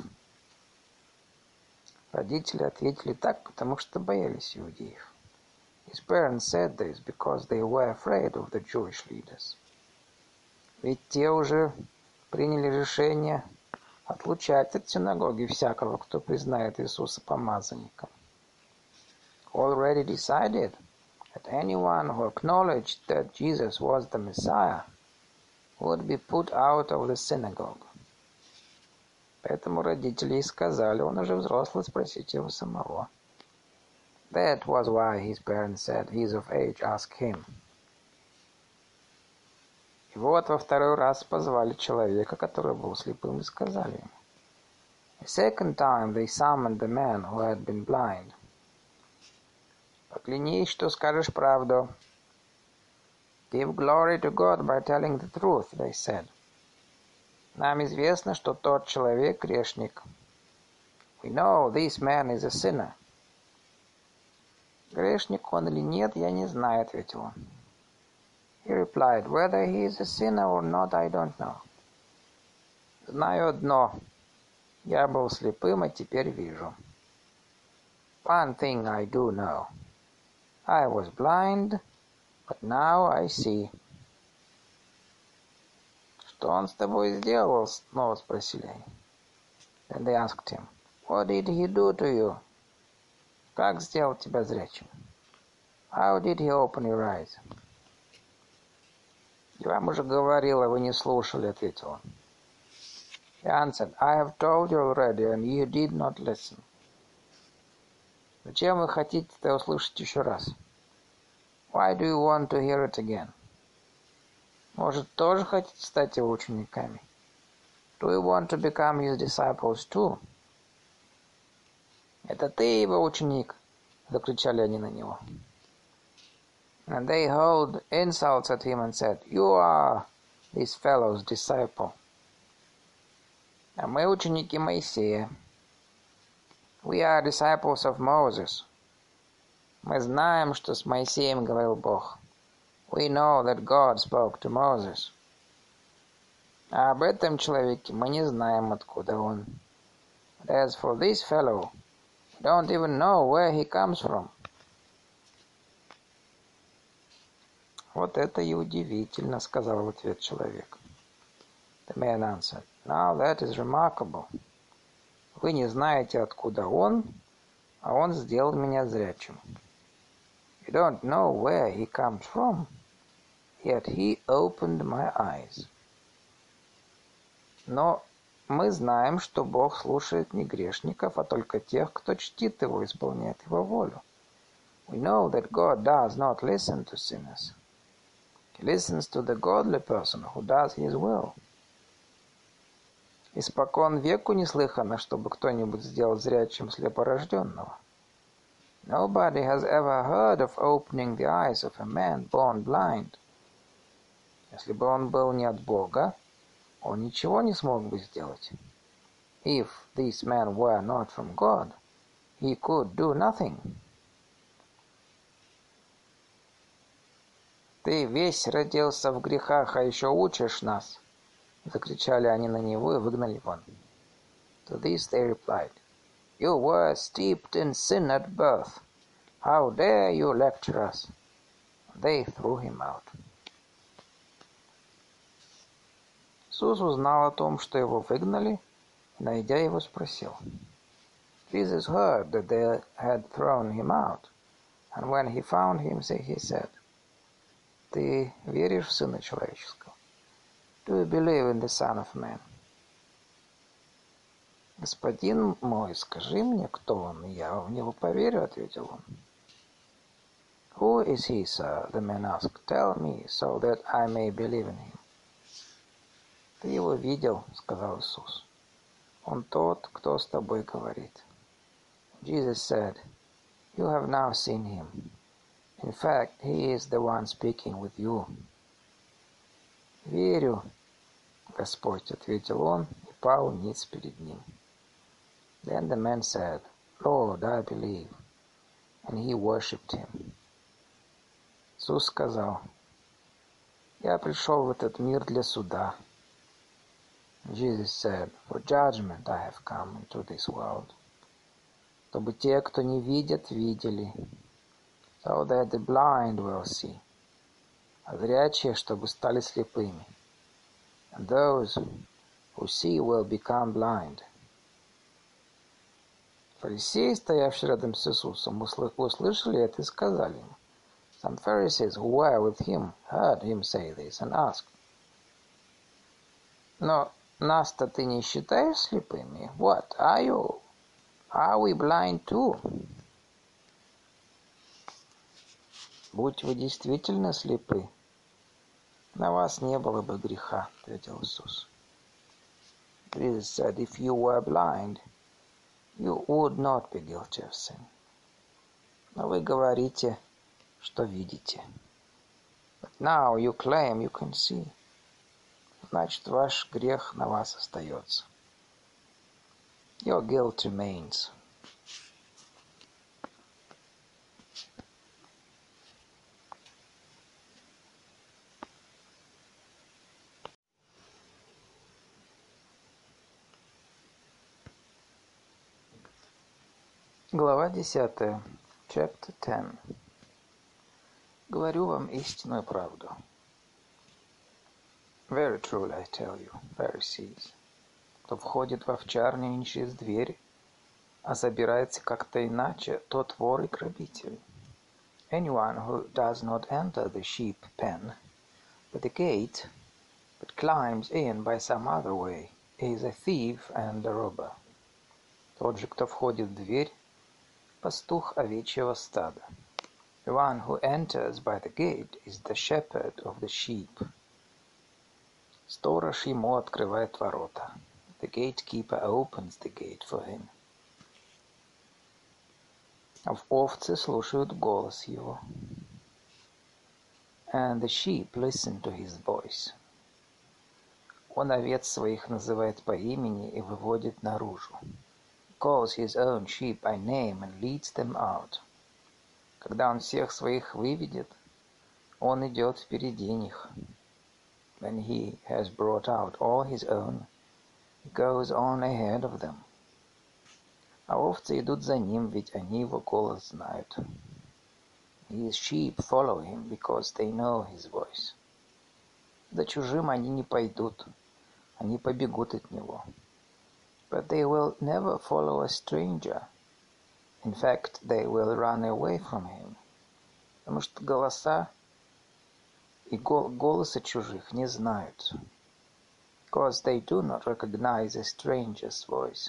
Родители ответили так, потому что боялись иудеев. His parents said this because they were afraid of the Jewish leaders. Ведь те уже приняли решение отлучать от синагоги всякого, кто признает Иисуса помазанником. Already decided that anyone who acknowledged that Jesus was the Messiah would be put out of the synagogue. Поэтому родители и сказали, он уже взрослый, спросите его самого. That was why his parents said, he is of age, ask him. И вот во второй раз позвали человека, который был слепым, и сказали ему. A second time they summoned the man who had been blind. Поклянись, что скажешь правду. Give glory to God by telling the truth, they said. Нам известно, что тот человек грешник. We know this man is a sinner. Грешник он или нет, я не знаю, ответил он. He replied, whether he is a sinner or not, I don't know. Знаю одно. Я был слепым, а теперь вижу. One thing I do know. I was blind, but now I see. Что он с тобой сделал? Снова спросили они. Then they asked him, what did he do to you? Как сделал тебя зрячим? How did he open your eyes? Я вам уже говорил, а вы не слушали, ответил он. He answered, I have told you already, and you did not listen. Зачем вы хотите это услышать еще раз? Why do you want to hear it again? Может, тоже хотите стать его учениками? Do you want to become his disciples too? Это ты его ученик, закричали они на него. And they hurled insults at him and said, you are this fellow's disciple. А мы ученики Моисея. We are disciples of Moses. Мы знаем, что с Моисеем говорил Бог. We know that God spoke to Moses. А об этом человеке мы не знаем, откуда он. But as for this fellow, we don't even know where he comes from. Вот это и удивительно, сказал в ответ человек. The man answered, now that is remarkable. Вы не знаете, откуда он, а он сделал меня зрячим. You don't know where he comes from, yet he opened my eyes. Но мы знаем, что Бог слушает не грешников, а только тех, кто чтит его и исполняет его волю. We know that God does not listen to sinners. He listens to the godly person who does his will. Испокон веку не слыхано, чтобы кто-нибудь сделал зрячим слепорожденного. Nobody has ever heard of opening the eyes of a man born blind. Если бы он был не от Бога, он ничего не смог бы сделать. If this man were not from God, he could do nothing. Ты весь родился в грехах, а еще учишь нас. Закричали они на него и выгнали вон. To this they replied, you were steeped in sin at birth. How dare you lecture us? They threw him out. Иисус узнал о том, что его выгнали, и, найдя его, спросил. Jesus heard that they had thrown him out, and when he found him, he said, ты веришь в Сына Человеческого? Do you believe in the Son of Man? Господин мой, скажи мне, кто он, и я в него поверю, ответил он. Who is he, sir? The man asked. Tell me, so that I may believe in him. Ты его видел, сказал Иисус. Он тот, кто с тобой говорит. Jesus said, You have now seen him. In fact, he is the one speaking with you. Верю, Господь, ответил он и пал ниц перед ним. Then the man said, Lord, I believe. And he worshipped him. Иисус сказал, я пришел в этот мир для суда. Jesus said, for judgment I have come into this world. Чтобы те, кто не видят, видели. So that the blind will see. А зрячие, чтобы стали слепыми. And those who see will become blind. Фарисеи, стоявшие рядом с Иисусом, услышали это и сказали ему. Some Pharisees who were with him heard him say this and asked, но нас-то ты не считаешь слепыми? What, are you? Are we blind too? Будь вы действительно слепы, на вас не было бы греха, ответил Иисус. Jesus said, if you were blind, you would not be guilty of sin. Но вы говорите, что видите. But now you claim you can see. Значит, ваш грех на вас остается. Your guilt remains. Глава 10. Chapter 10. Говорю вам истинную правду. Very truly I tell you, Pharisees, кто входит в овчарню не через дверь, а забирается как-то иначе, тот вор и грабитель. Anyone who does not enter the sheep pen by the gate, but climbs in by some other way, is a thief and a robber. Тот же, кто входит в дверь, пастух овечьего стада. The one who enters by the gate is the shepherd of the sheep. Сторож ему открывает ворота. The gatekeeper opens the gate for him. Овцы слушают голос его. And the sheep listen to his voice. Он овец своих называет по имени и выводит наружу. He calls his own sheep by name and leads them out. Когда он всех своих выведет, он идет впереди них. When he has brought out all his own, he goes on ahead of them. А овцы идут за ним, ведь они его голос знают. His sheep follow him because they know his voice. За чужим они не пойдут, они побегут от него. But they will never follow a stranger. In fact, they will run away from him. Потому что голоса и голоса чужих не знают. Because they do not recognize a stranger's voice.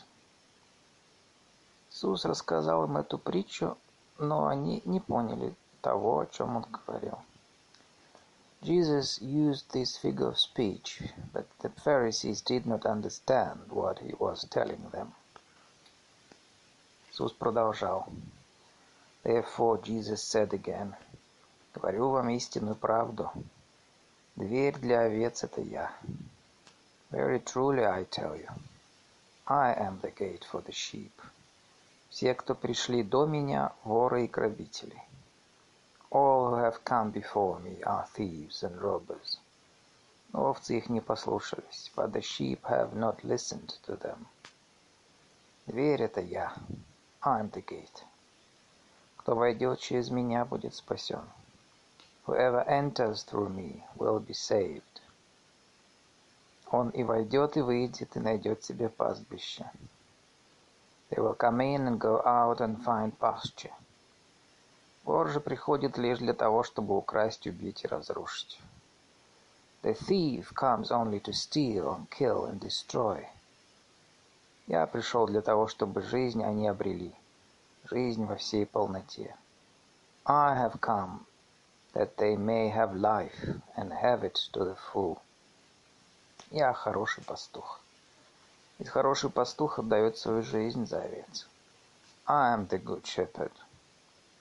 Иисус рассказал им эту притчу, но они не поняли того, о чем он говорил. Jesus used this figure of speech, but the Pharisees did not understand what he was telling them. Иисус продолжал. Therefore Jesus said again, говорю вам истинную правду. Дверь для овец — это я. Very truly I tell you, I am the gate for the sheep. Все, кто пришли до меня, воры и грабители. All who have come before me are thieves and robbers. Но овцы их не послушались, but the sheep have not listened to them. Дверь — это я. I am the gate. Кто войдет через меня, будет спасен. Whoever enters through me will be saved. Он и войдет, и выйдет, и найдет себе пастбище. They will come in and go out and find pasture. Вор же приходит лишь для того, чтобы украсть, убить и разрушить. The thief comes only to steal and kill and destroy. Я пришел для того, чтобы жизнь они обрели, жизнь во всей полноте. I have come that they may have life and have it to the full. Я хороший пастух. Ведь хороший пастух отдает свою жизнь за овец. I am the good shepherd.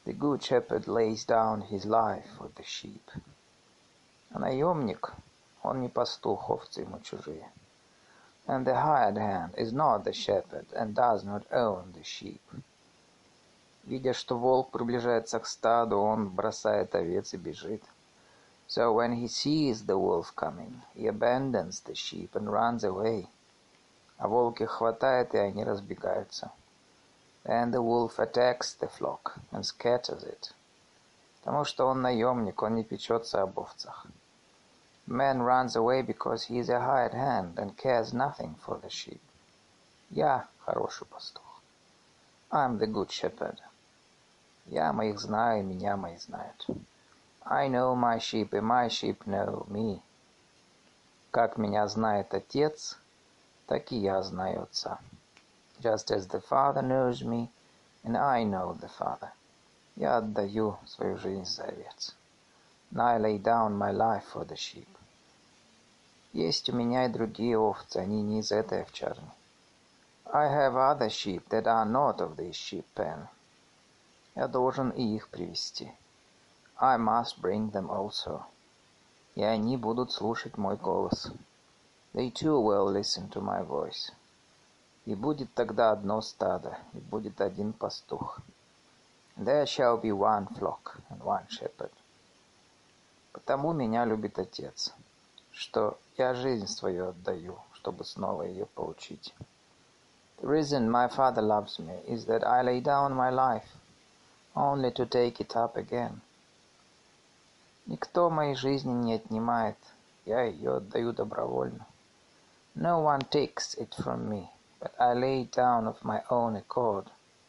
The good shepherd lays down his life for the sheep. А наемник, он не пастух, овцы ему чужие. And the hired hand is not the shepherd and does not own the sheep. Видя, что волк приближается к стаду, он бросает овец и бежит. So when he sees the wolf coming, he abandons the sheep and runs away. А волк их хватает, и они разбегаются. Then the wolf attacks the flock and scatters it. Потому что он наемник, он не печется об овцах. Man runs away because he is a hired hand and cares nothing for the sheep. Я хороший пастух. I'm the good shepherd. Я моих знаю, и меня мои знают. I know my sheep, and my sheep know me. Как меня знает Отец, так и я знаю Отца. Just as the Father knows me, and I know the Father. Я отдаю свою жизнь за овец. And I lay down my life for the sheep. Есть у меня и другие овцы, они не из этой овчарни. I have other sheep that are not of this sheep pen. Я должен и их привести. I must bring them also. И они будут слушать мой голос. They too will listen to my voice. И будет тогда одно стадо, и будет один пастух. There shall be one flock and one shepherd. Потому меня любит Отец, что я жизнь свою отдаю, чтобы снова ее получить. The reason my Father loves me is that I lay down my life, only to take it up again. Никто моей жизни не отнимает, я ее отдаю добровольно. No one takes it from me, but I lay it down of my own accord.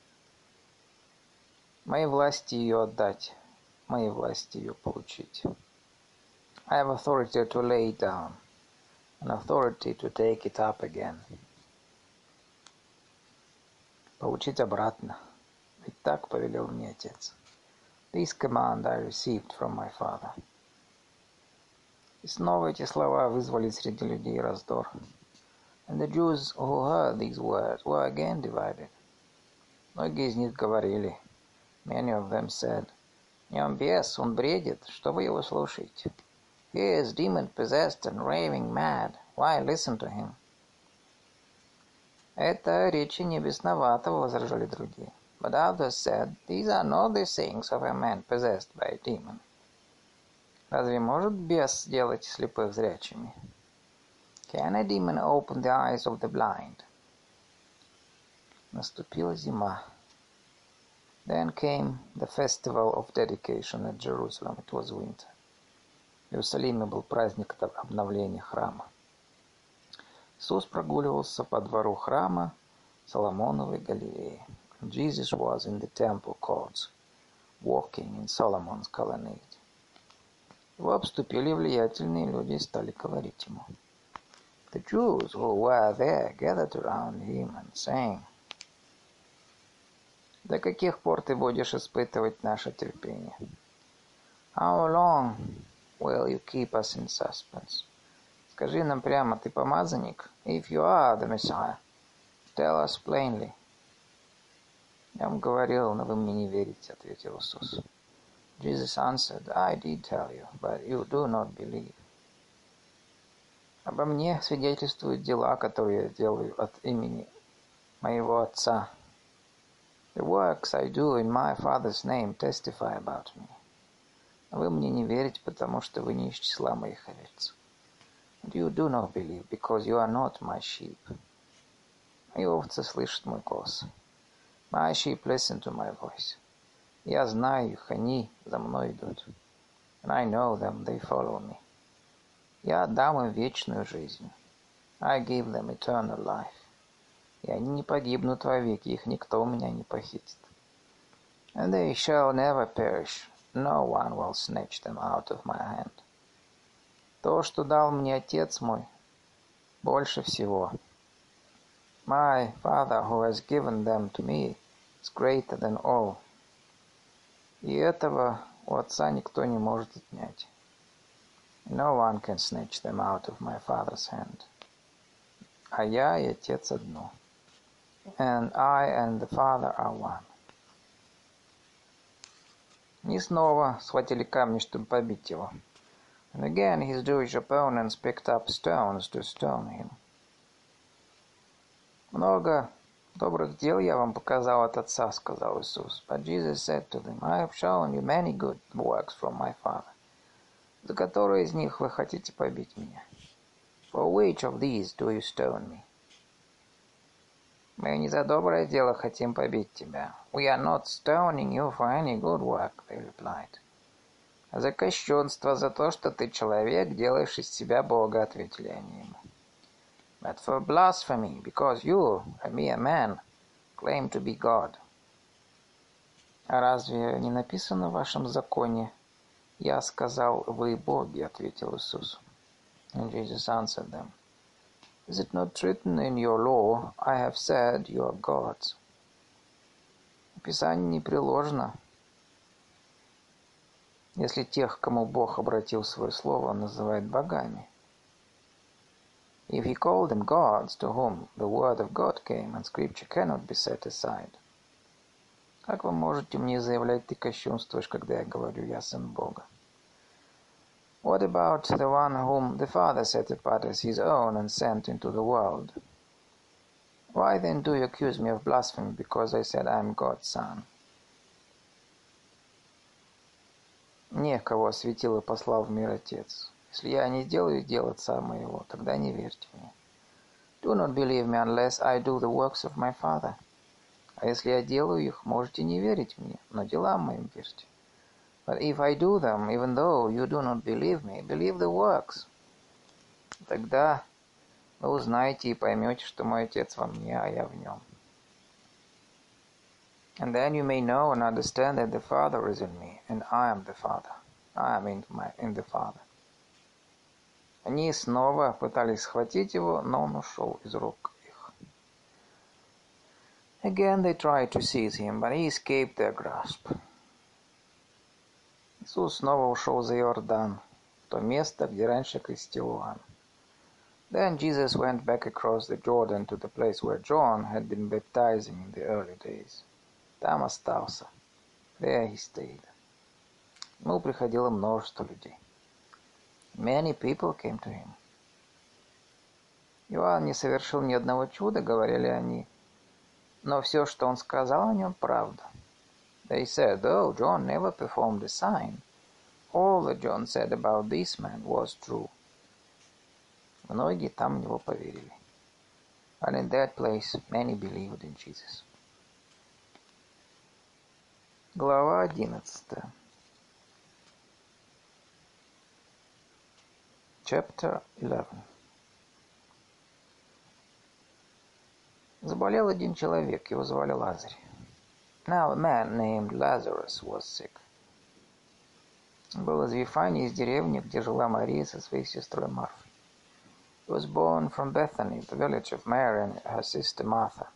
Моей власти ее отдать, моей власти ее получить. I have authority to lay it down, and authority to take it up again. Получить обратно, ведь так повелел мне Отец. This command I received from my Father. И снова эти слова вызвали среди людей раздор. And the Jews who heard these words were again divided. Многие из них говорили, many of them said, «В нем бес, он бредит, что вы его слушаете? He is demon-possessed and raving mad. Why listen to him?» Это речи не бесноватого, возражали другие. But others said, these are not the sayings of a man possessed by a demon. Разве может бес сделать слепых зрячими? Can a demon open the eyes of the blind? Наступила зима. Then came the festival of dedication at Jerusalem. It was winter. В Иерусалиме был праздник обновления храма. Иисус прогуливался по двору храма Соломоновой галереи. Jesus was in the temple courts, walking in Solomon's colonnade. Его обступили влиятельные люди и стали говорить ему. The Jews who were there gathered around him and sang, «До каких пор ты будешь испытывать наше терпение? How long will you keep us in suspense? Скажи нам прямо, ты помазанник? If you are the Messiah, tell us plainly». Я вам говорил, но вы мне не верите, ответил Иисус. Jesus answered, I did tell you, but you do not believe. Обо мне свидетельствуют дела, которые я делаю от имени моего Отца. The works I do in my Father's name testify about me. А вы мне не верите, потому что вы не из числа моих овец. And you do not believe, because you are not my sheep. Мои овцы слышат мой голос. My sheep listen to my voice. Я знаю их, они за мной идут. And I know them, they follow me. Я дам им вечную жизнь. I give them eternal life. И они не погибнут вовеки, их никто у меня не похитит. And they shall never perish. No one will snatch them out of my hand. То, что дал мне Отец мой, больше всего. My Father, who has given them to me, is greater than all. И этого у Отца никто не может отнять. No one can snatch them out of my Father's hand. А я и Отец одно. And I and the Father are one. И снова схватили камни, чтобы побить его. And again his Jewish opponents picked up stones to stone him. Много добрых дел я вам показал от Отца, сказал Иисус. But Jesus said to them, I have shown you many good works from my Father. За которые из них вы хотите побить меня? For which of these do you stone me? Мы не за доброе дело хотим побить тебя. We are not stoning you for any good work, they replied. А за кощунство, за то, что ты человек, делаешь из себя Бога, ответили они ему. But for blasphemy, because you, a mere man, claim to be God. А разве не написано в вашем законе? Я сказал, вы боги, ответил Иисус. And Jesus answered them. Is it not written in your law, I have said you are gods? В Писании не приложено, если тех, кому Бог обратил свое слово, он называет богами. If he called them gods, to whom the word of God came, and scripture cannot be set aside. Как вы можете мне заявлять, ты кощунствуешь, когда я говорю, я сын Бога? What about the one whom the Father set apart as his own and sent into the world? Why then do you accuse me of blasphemy because I said I am God's son? Мне, кого осветил и послал в мир Отец. Если я не делаю дел Отца моего, тогда не верьте мне. Do not believe me unless I do the works of my Father. А если я делаю их, можете не верить мне, но делам моим верьте. But if I do them, even though you do not believe me, believe the works. Тогда вы узнаете и поймете, что мой Отец во мне, а я в нем. And then you may know and understand that the Father is in me, and I am the Father. I am in the Father. Они снова пытались схватить его, но он ушел из рук их. Again they tried to seize him, but he escaped their grasp. Иисус снова ушел за Иордан, в то место, где раньше крестил Иоанн. Then Jesus went back across the Jordan to the place where John had been baptizing in the early days. Там остался. There he stayed. К нему приходило множество людей. Many people came to him. Иоанн не совершил ни одного чуда, говорили они, но все, что он сказал о нем, правда. They said, though John never performed a sign, all that John said about this man was true. Многие там в него поверили. And in that place many believed in Jesus. Глава 11. Chapter 11. Заболел один человек, его звали Лазарь. Now a man named Lazarus was sick. Он был из Вифании, из деревни, где жила Мария со своей сестрой Марфой. He was born from Bethany, the village of Mary and her sister Martha.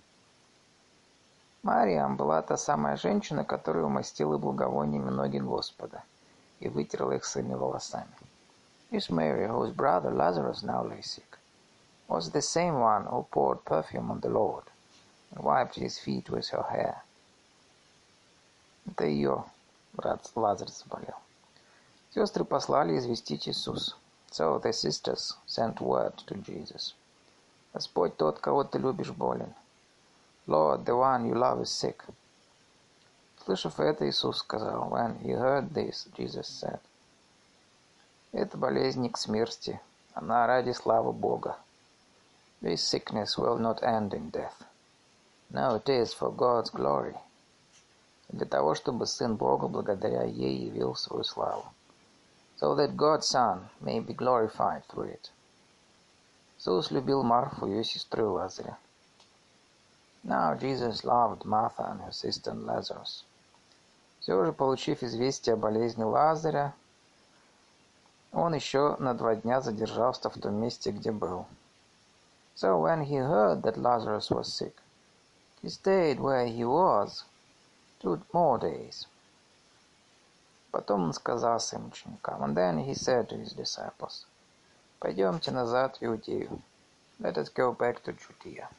Мария была та самая женщина, которая умастила благовониями ноги Господа и вытерла их своими волосами. This Mary, whose brother Lazarus now lay sick, was the same one who poured perfume on the Lord and wiped his feet with her hair. Это ее брат Лазарь заболел. Сестры послали известить Иисуса. So the sisters sent word to Jesus. Господь тот, кого ты любишь, болен. Lord, the one you love is sick. Слышав это, Иисус сказал, when he heard this, Jesus said, это болезнь не к смерти, она ради славы Бога. This sickness will not end in death. No, it is for God's glory. Для того, чтобы Сын Бога благодаря ей явил свою славу. So that God's Son may be glorified through it. Иисус любил Марфу, ее сестру и Лазаря. Now Jesus loved Martha and her sister and Lazarus. Все же, получив известие о болезни Лазаря, он еще на 2 дня задержался в том месте, где был. So when he heard that Lazarus was sick, he stayed where he was 2 more days. Потом он сказал своим ученикам, and then he said to his disciples, пойдемте назад в Иудею. Let us go back to Judea.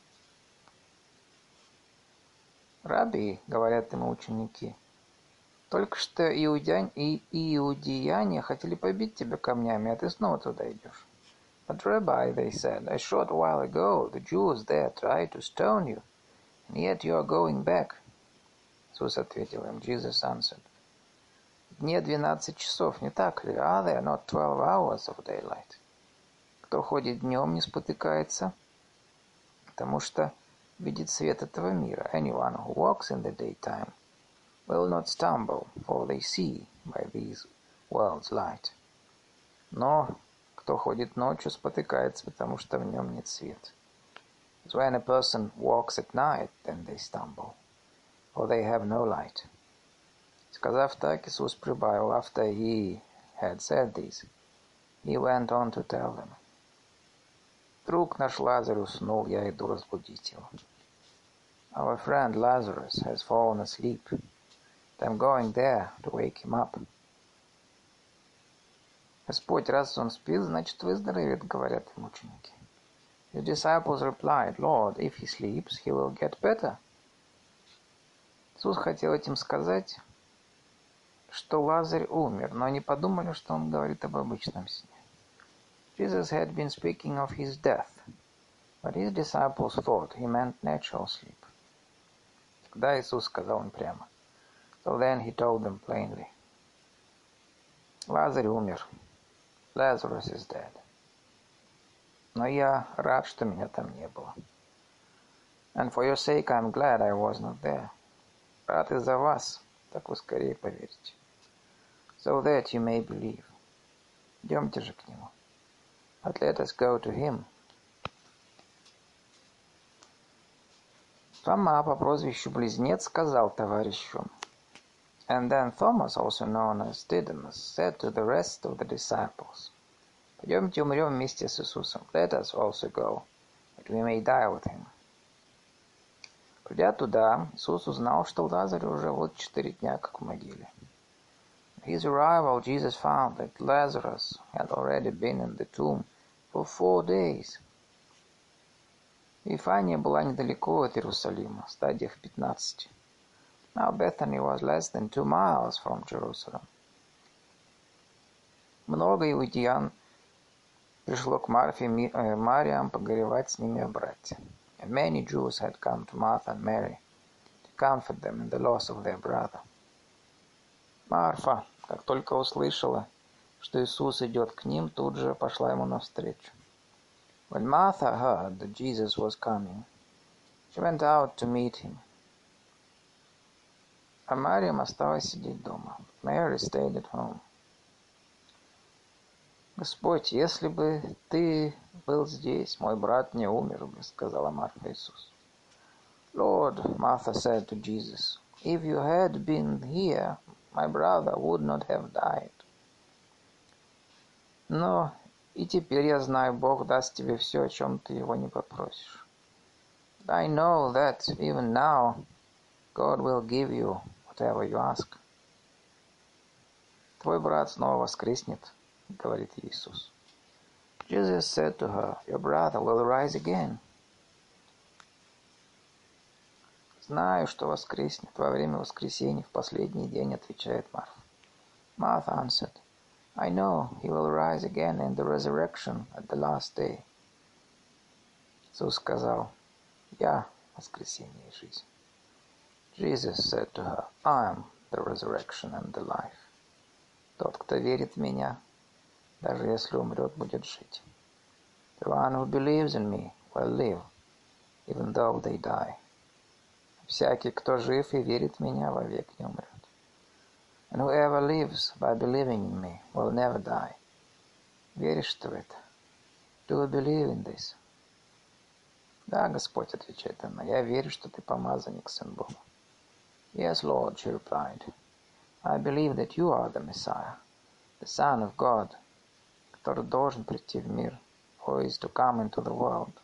Rabbi, говорят ему ученики, Только что иудеяне хотели побить тебя камнями, а ты снова туда идешь. But Rabbi, they said, a short while ago the Jews there tried to stone you, and yet you are going back. Иисус ответил им, Jesus answered, в дне 12 часов, не так ли? Are there not 12 hours of daylight? Кто ходит днем, не спотыкается, потому что видит свет этого мира. Anyone who walks in the daytime will not stumble, for they see by this world's light. Но кто ходит ночью, спотыкается, потому что в нем нет света. But when a person walks at night, then they stumble, for they have no light. Сказав так, Иисус прибавил, after he had said this, he went on to tell them, друг наш Лазарь уснул, я иду разбудить его. Our friend Lazarus has fallen asleep. I'm going there to wake him up. Господь, раз он спит, значит выздоровеет, говорят им ученики. His disciples replied, Lord, if he sleeps, he will get better. Иисус хотел этим сказать, что Лазарь умер, но они подумали, что он говорит об обычном сне. Jesus had been speaking of his death, but his disciples thought he meant natural sleep. Тогда Иисус сказал им прямо. So then he told them plainly, Лазарь умер. Lazarus is dead. Но я рад, что меня там не было. And for your sake I'm glad I was not there. Рад из-за вас, так вы скорее поверите. So that you may believe. Идемте же к нему. But let us go to him. Фома по прозвищу Близнец сказал товарищу. And then Thomas, also known as Didymus, said to the rest of the disciples, «Пойдемте умрем вместе с Иисусом. Let us also go, that we may die with him». Придя туда, Иисус узнал, что Лазарь уже вот 4 дня как в могиле. At his arrival, Jesus found that Lazarus had already been in the tomb for 4 days. Вифания была недалеко от Иерусалима, в стадиях 15. Now Bethany was less than 2 miles from Jerusalem. Много иудеян пришло к Марфе и Мариам погоревать с ними о брате. And many Jews had come to Martha and Mary to comfort them in the loss of their brother. Марфа, как только услышала, что Иисус идет к ним, тут же пошла ему навстречу. When Martha heard that Jesus was coming, she went out to meet him. А Мариам осталась сидеть дома. Mary stayed at home. Господь, если бы ты был здесь, мой брат не умер бы, сказала Марфа Иисусу. Lord, Martha said to Jesus, if you had been here, my brother would not have died. Но и теперь я знаю, Бог даст тебе все, о чем ты его не попросишь. I know that even now God will give you whatever you ask. Твой брат снова воскреснет, говорит Иисус. Jesus said to her, your brother will rise again. Знаю, что воскреснет во время воскресения в последний день, отвечает Марфа. Martha answered, I know he will rise again in the resurrection at the last day. Иисус сказал, я воскресение и жизнь. Jesus said to her, I am the resurrection and the life. Тот, кто верит в меня, даже если умрет, будет жить. The one who believes in me will live, even though they die. Всякий, кто жив и верит в меня, вовек не умрет. And whoever lives by believing in me will never die. Веришь ты в это? Do you believe in this? Да, Господь, отвечает она, я верю, что ты помазанник, Сын Бога. Yes, Lord, she replied. I believe that you are the Messiah, the Son of God, который должен прийти в мир, who is to come into the world.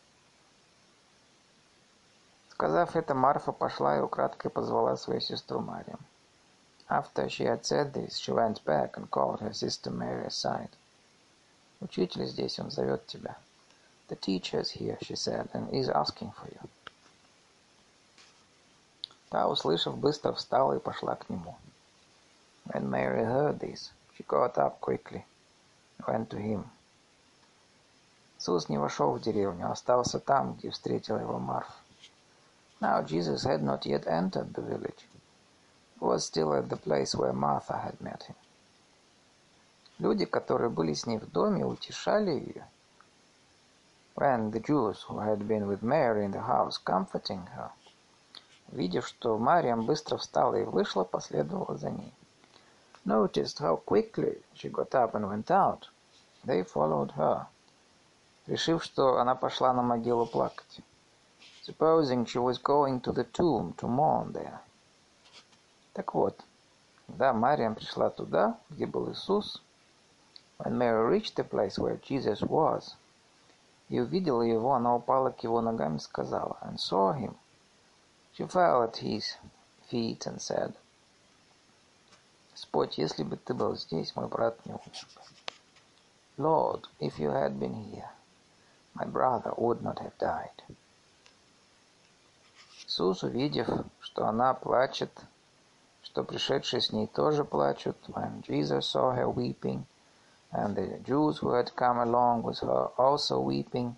Сказав это, Марфа пошла и украдкой позвала свою сестру Марию. After she had said this, she went back and called her sister Mary aside. Учитель здесь, он зовет тебя. The teacher is here, she said, and is asking for you. Та, услышав, быстро встала и пошла к нему. When Mary heard this, she got up quickly and went to him. Иисус не вошел в деревню, остался там, где встретила его Марфа. Now Jesus had not yet entered the village. He was still at the place where Martha had met him. Люди, которые были с ней в доме, утешали ее. When the Jews who had been with Mary in the house comforting her, увидев, что Мариам быстро встала и вышла, последовала за ней. Noticed how quickly she got up and went out. They followed her, решив, что она пошла на могилу плакать. Supposing she was going to the tomb to mourn there. Так вот, когда Мариам пришла туда, где был Иисус, when Mary reached the place where Jesus was, и увидела его, она упала к его ногам и сказала, and saw him. She fell at his feet and said, Господь, если бы ты был здесь, мой брат не умер бы. Lord, if you had been here, my brother would not have died. Иисус, увидев, что она плачет, что пришедшие с ней тоже плачут, when Jesus saw her weeping, and the Jews who had come along with her also weeping,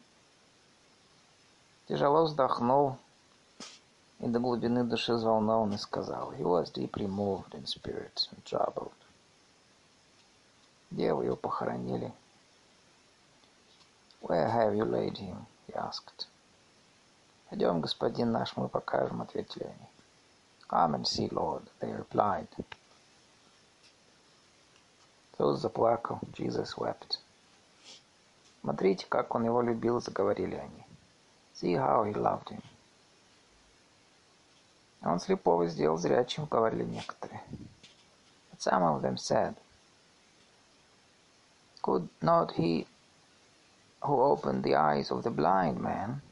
тяжело вздохнул и до глубины души взволнован и сказал, he was deeply moved in spirit and troubled. Где вы его похоронили? Where have you laid him? He asked. Пойдем, господин наш, мы покажем, ответили они. Come and see, Lord, they replied. Иисус заплакал, Jesus wept. Смотрите, как он его любил, заговорили они. See how he loved him. Он слепого сделал зрячим, говорили некоторые. But some of them said, Could not he who opened the eyes of the blind man?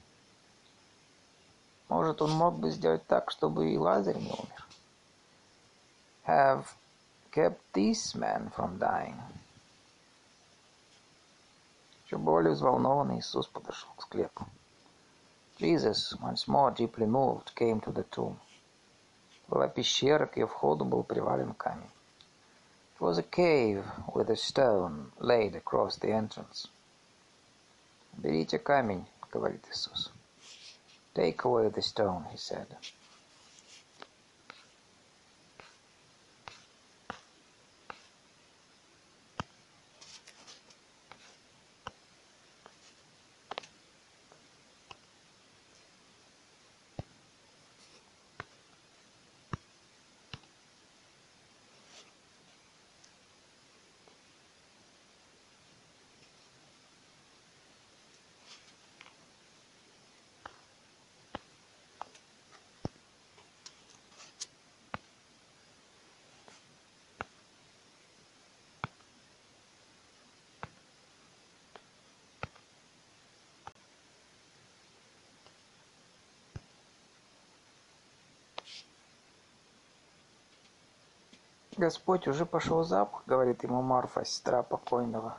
Может, он мог бы сделать так, чтобы и Лазарь не умер? Have kept this man from dying. Еще более взволнованный Иисус подошел к склепу. Jesus, once more deeply moved, came to the tomb. Была пещера, к ее входу был привален камень. It was a cave with a stone laid across the entrance. «Берите камень», — говорит Иисус. «Take away the stone», — he said. «Господь, уже пошел запах», — говорит ему Марфа, сестра покойного.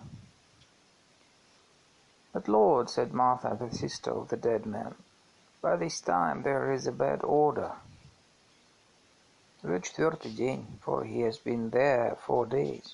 «But Lord», — said Martha, the sister of the dead man, «by this time there is a bad odor». Уже 4-й день, for he has been there 4 days.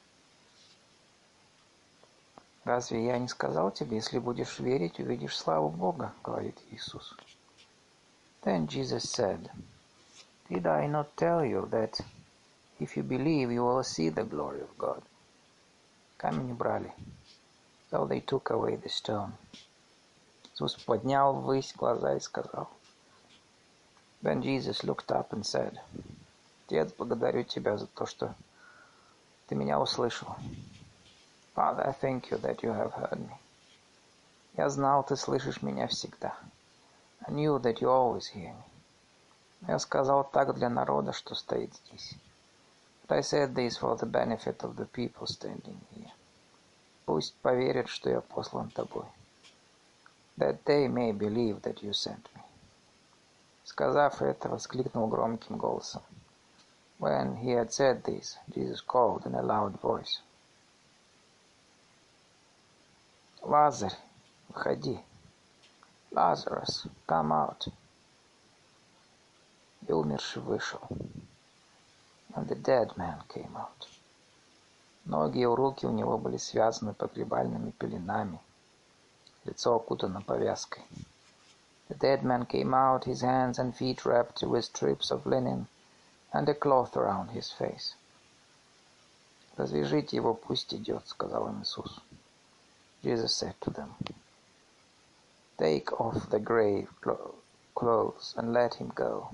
«Разве я не сказал тебе, если будешь верить, увидишь славу Бога?» — говорит Иисус. Then Jesus said, Did I not tell you that if you believe, you will see the glory of God? Камень убрали. So they took away the stone. Иисус поднял ввысь глаза и сказал. Then Jesus looked up and said, Отец, благодарю тебя за то, что ты меня услышал. Father, I thank you that you have heard me. Я знал, ты слышишь меня всегда. I knew that you always hear me. Но я сказал так для народа, что стоит здесь. But I said this for the benefit of the people standing here. Пусть поверят, что я послан тобой. That they may believe that you sent me. Сказав это, воскликнул громким голосом. When he had said this, Jesus called in a loud voice. Лазарь, выходи. Lazarus, come out. И умерший вышел. and the dead man came out. Ноги и руки у него были связаны погребальными пеленами, лицо окутано повязкой. The dead man came out, his hands and feet wrapped with strips of linen, and a cloth around his face. «Развяжите его, пусть идет», — сказал им Иисус. Jesus said to them, «Take off the grave clothes and let him go».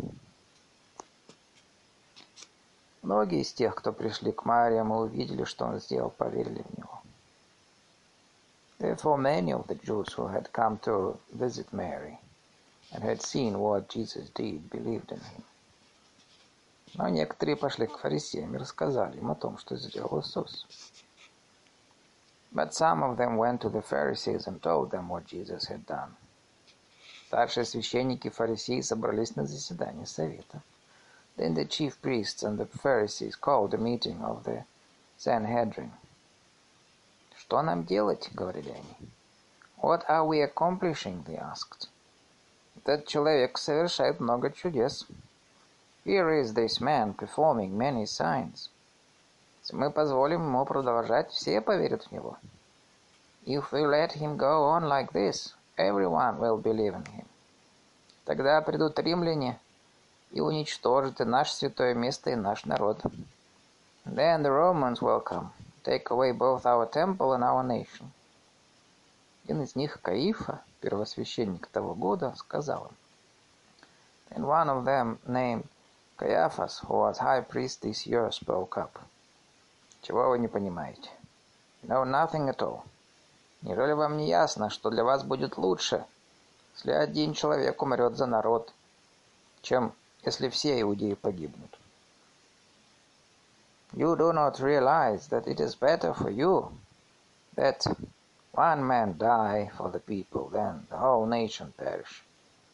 Многие из тех, кто пришли к Мариам и увидели, что он сделал, поверили в него. Therefore many of the Jews who had come to visit Mary and had seen what Jesus did believed in him. Но некоторые пошли к фарисеям и рассказали им о том, что сделал Иисус. But some of them went to the Pharisees and told them what Jesus had done. Старшие священники и фарисеи собрались на заседание совета. Then the chief priests and the Pharisees called a meeting of the Sanhedrin. «Что нам делать?» — говорили они. «What are we accomplishing?» — they asked. «Этот человек совершает много чудес. Here is this man performing many signs. Если мы позволим ему продолжать, все поверят в него. If we let him go on like this, everyone will believe in him. Тогда придут римляне и уничтожат и наше святое место, и наш народ. Then the Romans will come, take away both our temple and our nation». Один из них, Каифа, первосвященник того года, сказал им. Then one of them, named Caiaphas, who was high priest this year, spoke up. «Чего вы не понимаете? You know nothing at all. Неужели вам не ясно, что для вас будет лучше, если один человек умрет за народ, чем если все иудеи погибнут? You do not realize that it is better for you that one man die for the people than the whole nation perish».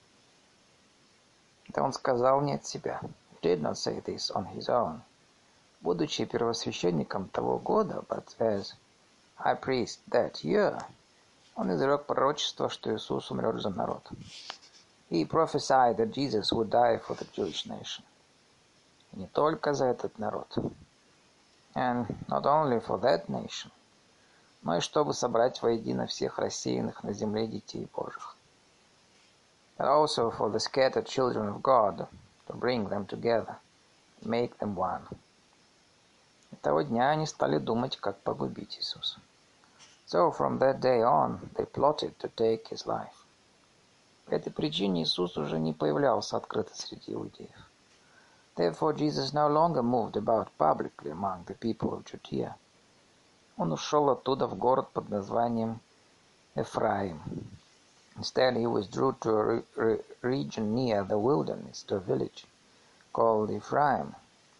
Это он сказал не от себя. He did not say this on his own. Будучи первосвященником того года, but as high priest that year, он изрек пророчество, что Иисус умрет за народ. He prophesied that Jesus would die for the Jewish nation. И не только за этот народ. And not only for that nation, но и чтобы собрать воедино всех рассеянных на земле детей Божьих. But also for the scattered children of God, to bring them together, and make them one. И того дня они стали думать, как погубить Иисуса. So from that day on, they plotted to take his life. По этой причине Иисус уже не появлялся открыто среди иудеев. Therefore Jesus no longer moved about publicly among the people of Judea. Он ушел оттуда в город под названием Эфраим. Instead he withdrew to a region near the wilderness, to a village called Ephraim,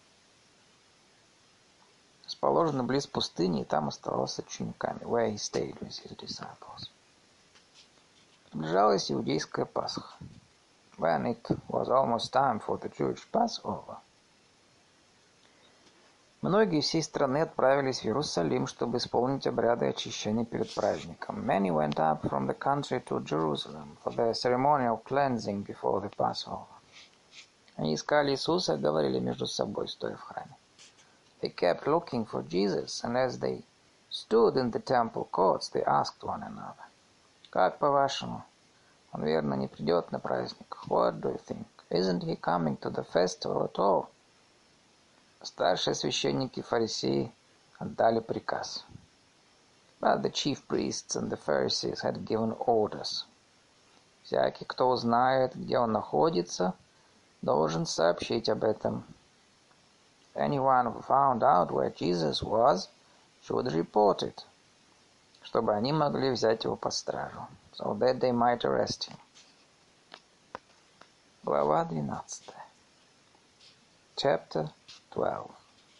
расположенный близ пустыни, и там оставался с учениками, where he stayed with his disciples. Приближалась иудейская Пасха. When it was almost time for the Jewish Passover, многие всей страны отправились в Иерусалим, чтобы исполнить обряды очищения перед праздником. Many went up from the country to Jerusalem for the ceremonial cleansing before the Passover. Они искали Иисуса и говорили между собой, стоя в храме. They kept looking for Jesus, and as they stood in the temple courts, they asked one another, «Как по-вашему? Он верно не придет на праздник? What do you think? Isn't he coming to the festival at all?» Старшие священники и фарисеи отдали приказ. But the chief priests and the Pharisees had given orders. Всякий, кто узнает, где он находится, должен сообщить об этом. Anyone who found out where Jesus was should report it, чтобы они могли взять его под стражу, so that they might arrest him. Глава 12. Chapter 12.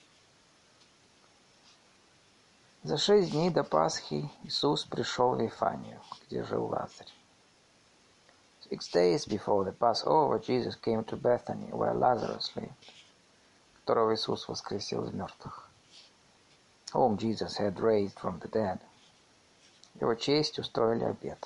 За 6 дней до Пасхи Иисус пришел в Вифанию, где жил Лазарь. 6 days before the Passover, Jesus came to Bethany, where Lazarus lived, которого Иисус воскресил из мертвых, whom Jesus had raised from the dead. Его честь устроили обед.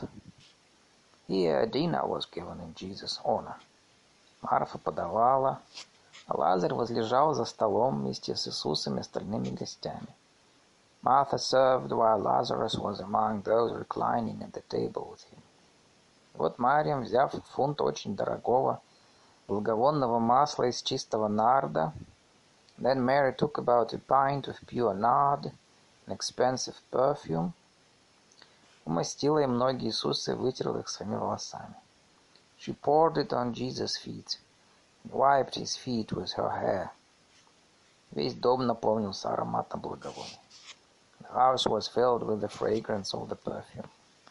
Here a dinner was given in Jesus' honor. Марфа подавала, А Лазарь возлежал за столом вместе с Иисусом и остальными гостями. Martha served while Lazarus was among those reclining at the table with him. Вот Марья, взяв фунт очень дорогого благовонного масла из чистого нарда, then Mary took about a pint of pure nard, an expensive perfume, умастила им ноги Иисуса и вытерла их своими волосами. She poured it on Jesus' feet and wiped his feet with her hair. Весь дом наполнился ароматом благовония. The house was filled with the fragrance of the perfume.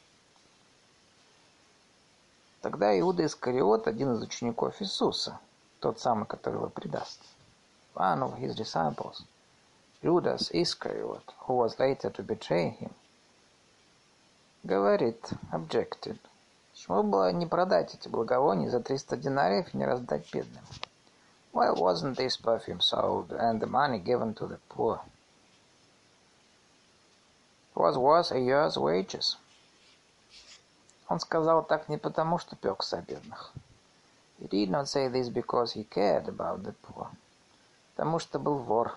Тогда Иуда Искариот, один из учеников Иисуса, тот самый, который его предаст, one of his disciples, Judas Iscariot, who was later to betray him, говорит, objected, почему бы не продать эти благовония за 300 динариев и не раздать бедным? Why wasn't this perfume sold and the money given to the poor? It was worth a year's wages. Он сказал так не потому, что пекся о бедных. He did not say this because he cared about the poor. Потому что был вор.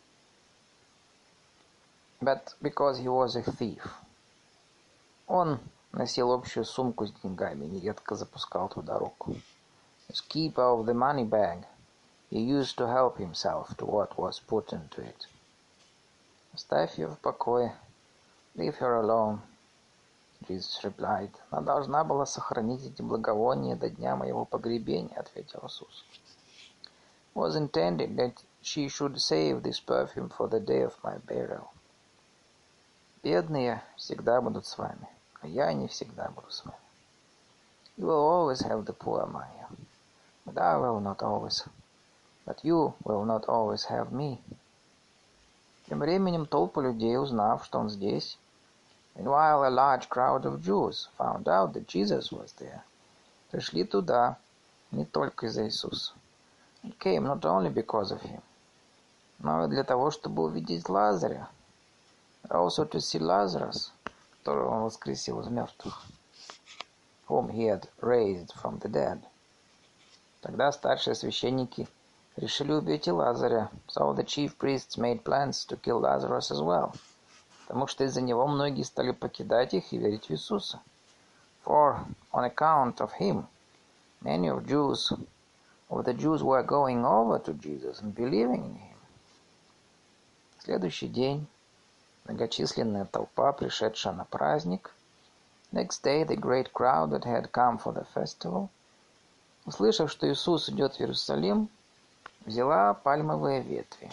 But because he was a thief. Он носил общую сумку с деньгами, нередко запускал туда руку. As keeper of the money bag, he used to help himself to what was put into it. Оставь ее в покое. Leave her alone. Jesus replied. Она должна была сохранить эти благовония до дня моего погребения, ответил Иисус. It was intended that she should save this perfume for the day of my burial. Бедные всегда будут с вами, а я не всегда буду с вами. You will always have the poor among you, but I will not always. But you will not always have me. Тем временем толпа людей, узнав, что он здесь, meanwhile a large crowd of Jews found out that Jesus was there, пришли туда не только из-за Иисуса. It came not only because of him, но и для того, чтобы увидеть Лазаря, but also to see Lazarus, которого он воскресил из мертвых, whom he had raised from the dead. Тогда старшие священники решили убить и Лазаря, so the chief priests made plans to kill Lazarus as well, потому что из-за него многие стали покидать их и верить в Иисуса. For, on account of him, many of the Jews were going over to Jesus and believing in him. В следующий день многочисленная толпа, пришедшая на праздник, next day the great crowd that had come for the festival, услышав, что Иисус идет в Иерусалим, взяла пальмовые ветви.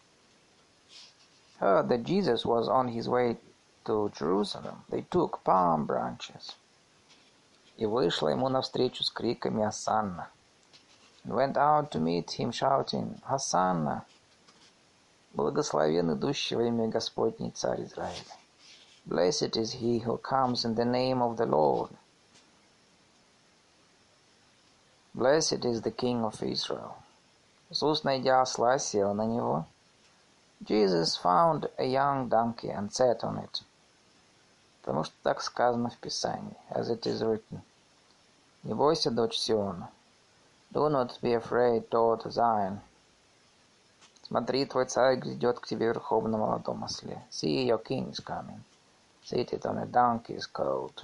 Heard that Jesus was on his way to Jerusalem, they took palm branches. И вышла ему навстречу с криками «Осанна!» and went out to meet him shouting «Hosanna!» Благословен идущий во имя Господне Царь Израиля. Blessed is he who comes in the name of the Lord. Blessed is the King of Israel. Иисус, найдя осла, сел на него. Jesus found a young donkey and sat on it. Потому что так сказано в Писании, as it is written. Не бойся, дочь Сиона. Do not be afraid, daughter Zion. Смотри, твой царь грядет к тебе верхом на молодом осле. See, your king is coming, seated on a donkey's colt.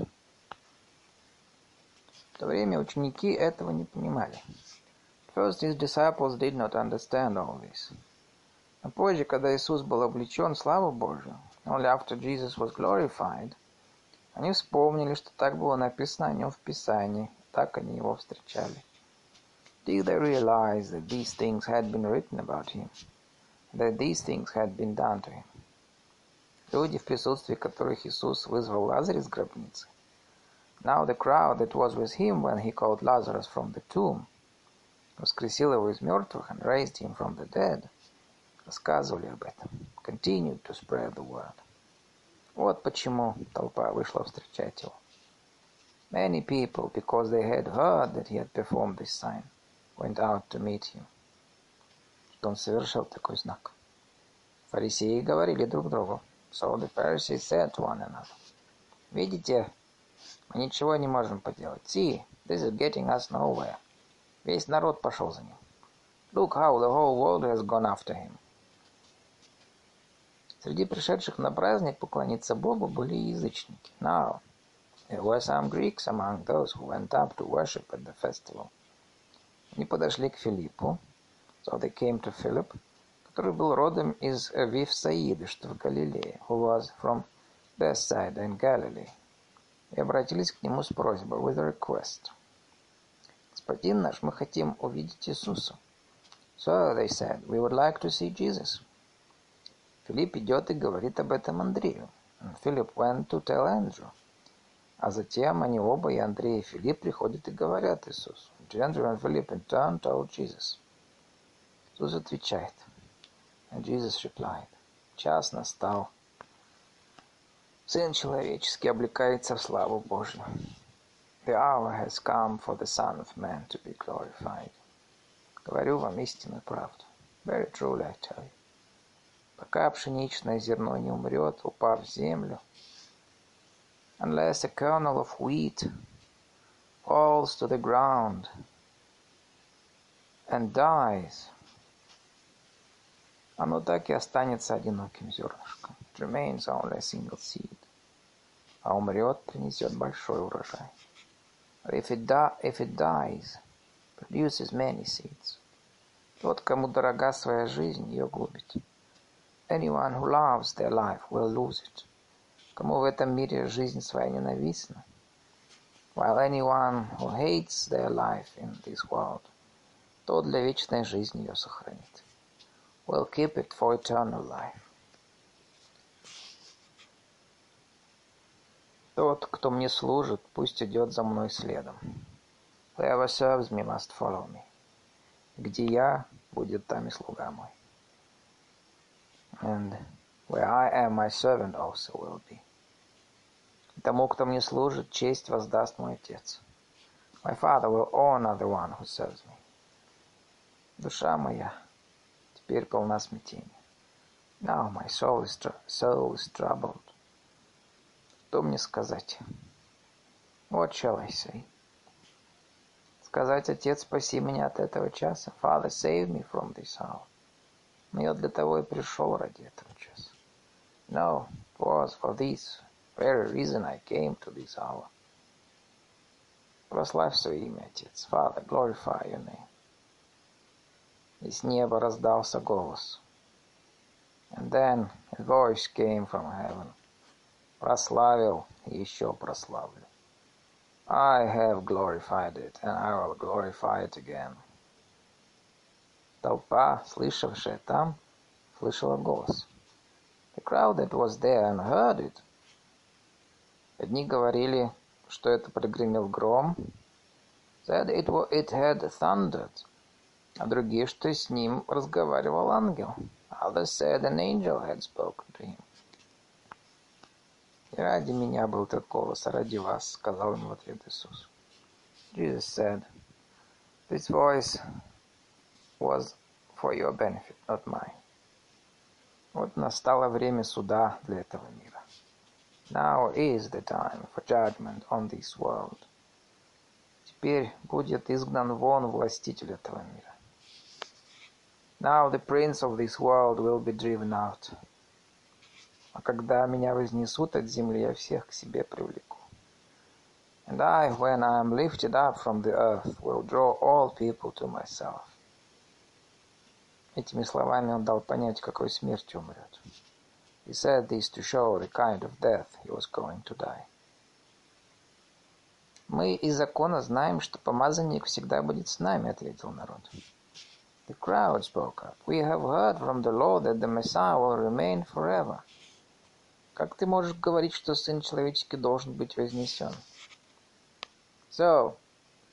В то время ученики этого не понимали. First, his disciples did not understand all this. А позже, когда Иисус был облечен в славу Божию, only after Jesus was glorified, они вспомнили, что так было написано о нем в Писании, так они его встречали. Did they realize that these things had been written about him, that these things had been done to him? Люди, в присутствии которых Иисус вызвал Лазаря из гробницы. Now the crowd that was with him when he called Lazarus from the tomb, воскресил его из мертвых and raised him from the dead, рассказывали об этом, continued to spread the word. Вот почему толпа вышла встречать его. Many people, because they had heard that he had performed this sign, went out to meet him. Что он совершил такой знак. Фарисеи говорили друг другу. So the Pharisees said to one another, видите, мы ничего не можем поделать. See, this is getting us nowhere. Весь народ пошел за ним. Look how the whole world has gone after him. Среди пришедших на праздник поклониться Богу были язычники. Now, there were some Greeks among those who went up to worship at the festival. Они подошли к Филиппу, so they came to Philip, который был родом из Вифсаиды, что в Галилее, who was from Bethsaida in Galilee, и обратились к нему с просьбой, with a request. Господин наш, мы хотим увидеть Иисуса. So, they said, we would like to see Jesus. Филипп идет и говорит об этом Андрею. And Philip went to tell Andrew. А затем они оба, и Андрей, и Филипп, приходят и говорят Иисусу. Andrew and Philip in turn told Jesus. Иисус отвечает. And Jesus replied. Час настал. Сын человеческий облекается в славу Божью. The hour has come for the Son of Man to be glorified. Говорю вам истинную правду. Very truly I tell you. Пока пшеничное зерно не умрет, упав в землю, unless a kernel of wheat falls to the ground and dies, оно так и останется одиноким зернышком. It remains only a single seed. А умрет, принесет большой урожай. But if it dies, produces many seeds. Тот, кому дорога своя жизнь, ее губит. Anyone who loves their life will lose it. Кому в этом мире жизнь своя ненавистна, while anyone who hates their life in this world, тот для вечной жизни ее сохранит. Will keep it for eternal life. Тот, кто мне служит, пусть идет за мной следом. Whoever serves me must follow me. Где я, будет там и слуга мой. And where I am, my servant also will be. Тому, кто мне служит, честь воздаст мой Отец. My Father will honor the one who serves me. Душа моя теперь полна смятения. Now my soul is troubled. Что мне сказать? What shall I say? Сказать: Отец, спаси меня от этого часа. Father, save me from this hour. Но я для того и пришел ради этого часа. No, it was for this very reason I came to this hour. Прославь свое имя, Отец. Father, glorify your name. Из неба раздался голос. And then a voice came from heaven. Прославил и еще прославлю. I have glorified it, and I will glorify it again. Толпа, слышавшая там, слышала голос. The crowd that was there and heard it. Одни говорили, что это прогремел гром, said it had thundered, а другие, что с ним разговаривал ангел. Others said an angel had spoken to him. И ради меня был этот голос, а ради вас, сказал ему в ответ Иисус. Jesus said, this voice was for your benefit, not mine. Вот настало время суда для этого мира. Now is the time for judgment on this world. Теперь будет изгнан вон властитель этого мира. Now the prince of this world will be driven out. А когда меня вознесут от земли, я всех к себе привлеку. And I, when I am lifted up from the earth, will draw all people to myself. Этими словами он дал понять, какой смертью умрет. He said this to show the kind of death he was going to die. Мы из закона знаем, что помазанник всегда будет с нами, ответил народ. The crowd spoke up. We have heard from the Lord that the Messiah will remain forever. Как ты можешь говорить, что Сын Человеческий должен быть вознесен? So,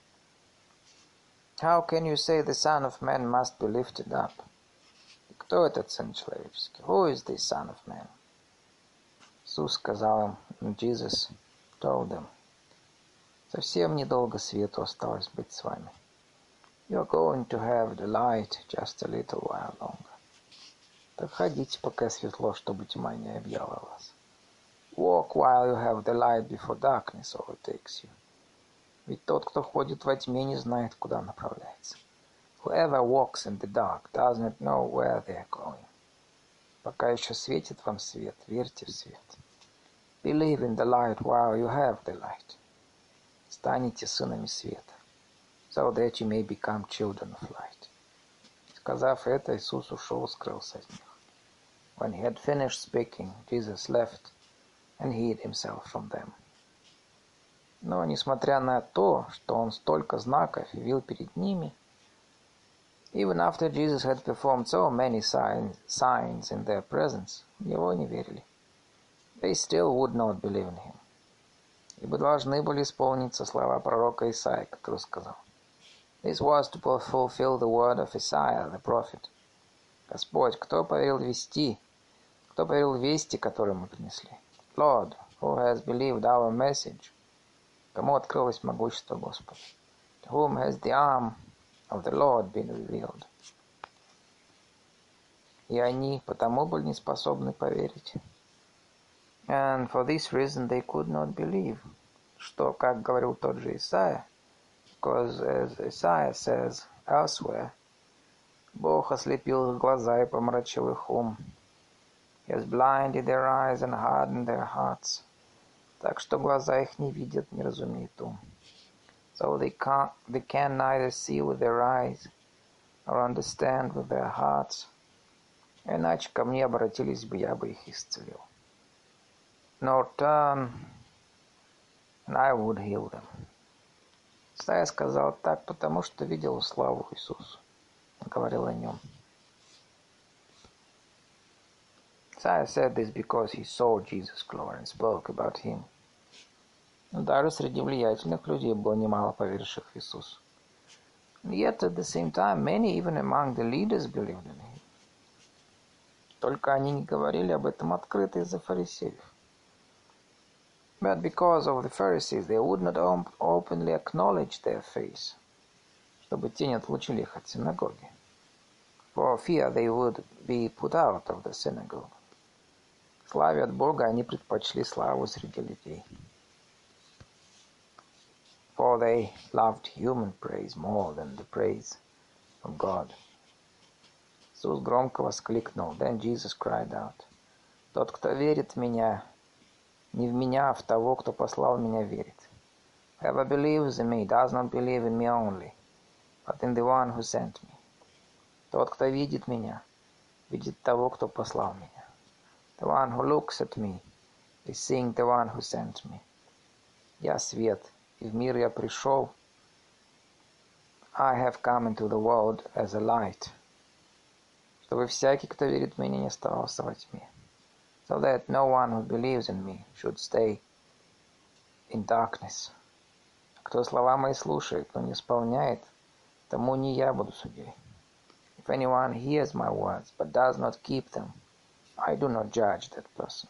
how can you say the Son of Man must be lifted up? Кто этот Сын Человеческий? Who is this Son of Man? Иисус сказал им, Jesus told them, совсем недолго свету осталось быть с вами. You're going to have the light just a little while longer. Так ходите, пока светло, чтобы тьма не объяла вас. Walk while you have the light before darkness overtakes you. Ведь тот, кто ходит во тьме, не знает, куда направляется. Whoever walks in the dark does not know where they are going. Пока еще светит вам свет, верьте в свет. Believe in the light while you have the light. Станете сынами света, so that you may become children of light. Сказав это, Иисус ушел, скрылся от них. When he had finished speaking, Jesus left and hid himself from them. Но, несмотря на то, что он столько знаков явил перед ними, even after Jesus had performed so many signs in their presence, в него не верили. They still would not believe in him. Ибо должны были исполниться слова пророка Исаии, который сказал: This was to fulfill the word of Isaiah, the prophet. Господь, кто поверил вести, которые мы принесли? Lord, who has believed our message? Кому открылось могущество Господа? To whom has the arm of the Lord been revealed? И они потому были не способны поверить. And for this reason they could not believe. Что, как говорил тот же Исаия, because as Isaiah says elsewhere, Бог ослепил их глаза и помрачил их ум. He has blinded their eyes and hardened their hearts. Так что глаза их не видят, не разумеют ум. So they can neither see with their eyes or understand with their hearts. Иначе ко мне обратились бы, я бы их исцелил. Nor turn, and I would heal them. Исайя сказал так, потому что видел славу Иисуса. Он говорил о нем. Isaiah said this because he saw Jesus' glory and spoke about him. Но даже среди влиятельных людей было немало поверивших в Иисуса. And yet at the same time, many even among the leaders believed in him. Только они не говорили об этом открыто из-за фарисеев. But because of the Pharisees, they would not openly acknowledge their faith, чтобы те не отлучили их от синагоги. For fear they would be put out of the synagogue. Славе от Бога они предпочли славу среди людей. For they loved human praise more than the praise of God. Иисус громко воскликнул. Then Jesus cried out. Тот, кто верит в меня, не в меня, а в того, кто послал меня, верит. Whoever believes in me does not believe in me only, but in the one who sent me. Тот, кто видит меня, видит того, кто послал меня. The one who looks at me is seeing the one who sent me. Я свет, и в мир я пришел. I have come into the world as a light, чтобы всякий, кто верит в меня, не оставался во тьме. So that no one who believes in me should stay in darkness. Кто слова мои слушает, но не исполняет, тому не я буду судьей. If anyone hears my words, but does not keep them, I do not judge that person.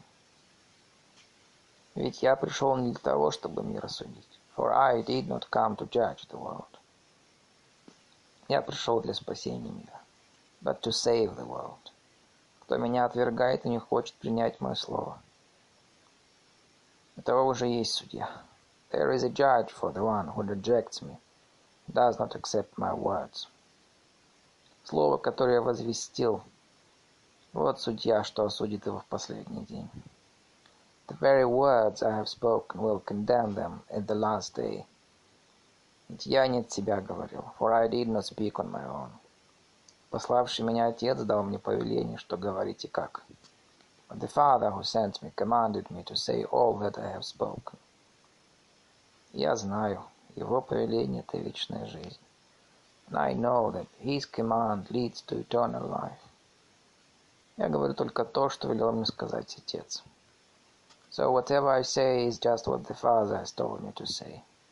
Ведь я пришел не для того, чтобы мир осудить. For I did not come to judge the world. Я пришел для спасения мира, but to save the world. Кто меня отвергает и не хочет принять мое слово, у того уже есть судья. There is a judge for the one who rejects me, does not accept my words. Слово, которое я возвестил, вот судья, что осудит его в последний день. The very words I have spoken will condemn them at the last day. Ведь я не от себя говорил, for I did not speak on my own. Пославший меня Отец дал мне повеление, что говорить и как. But the Father who sent me commanded me to say all that I have spoken. Я знаю, его повеление – это вечная жизнь. And I know that his command leads to eternal life. Я говорю только то, что велел мне сказать Отец. So whatever I say is just what the Father has told me to say.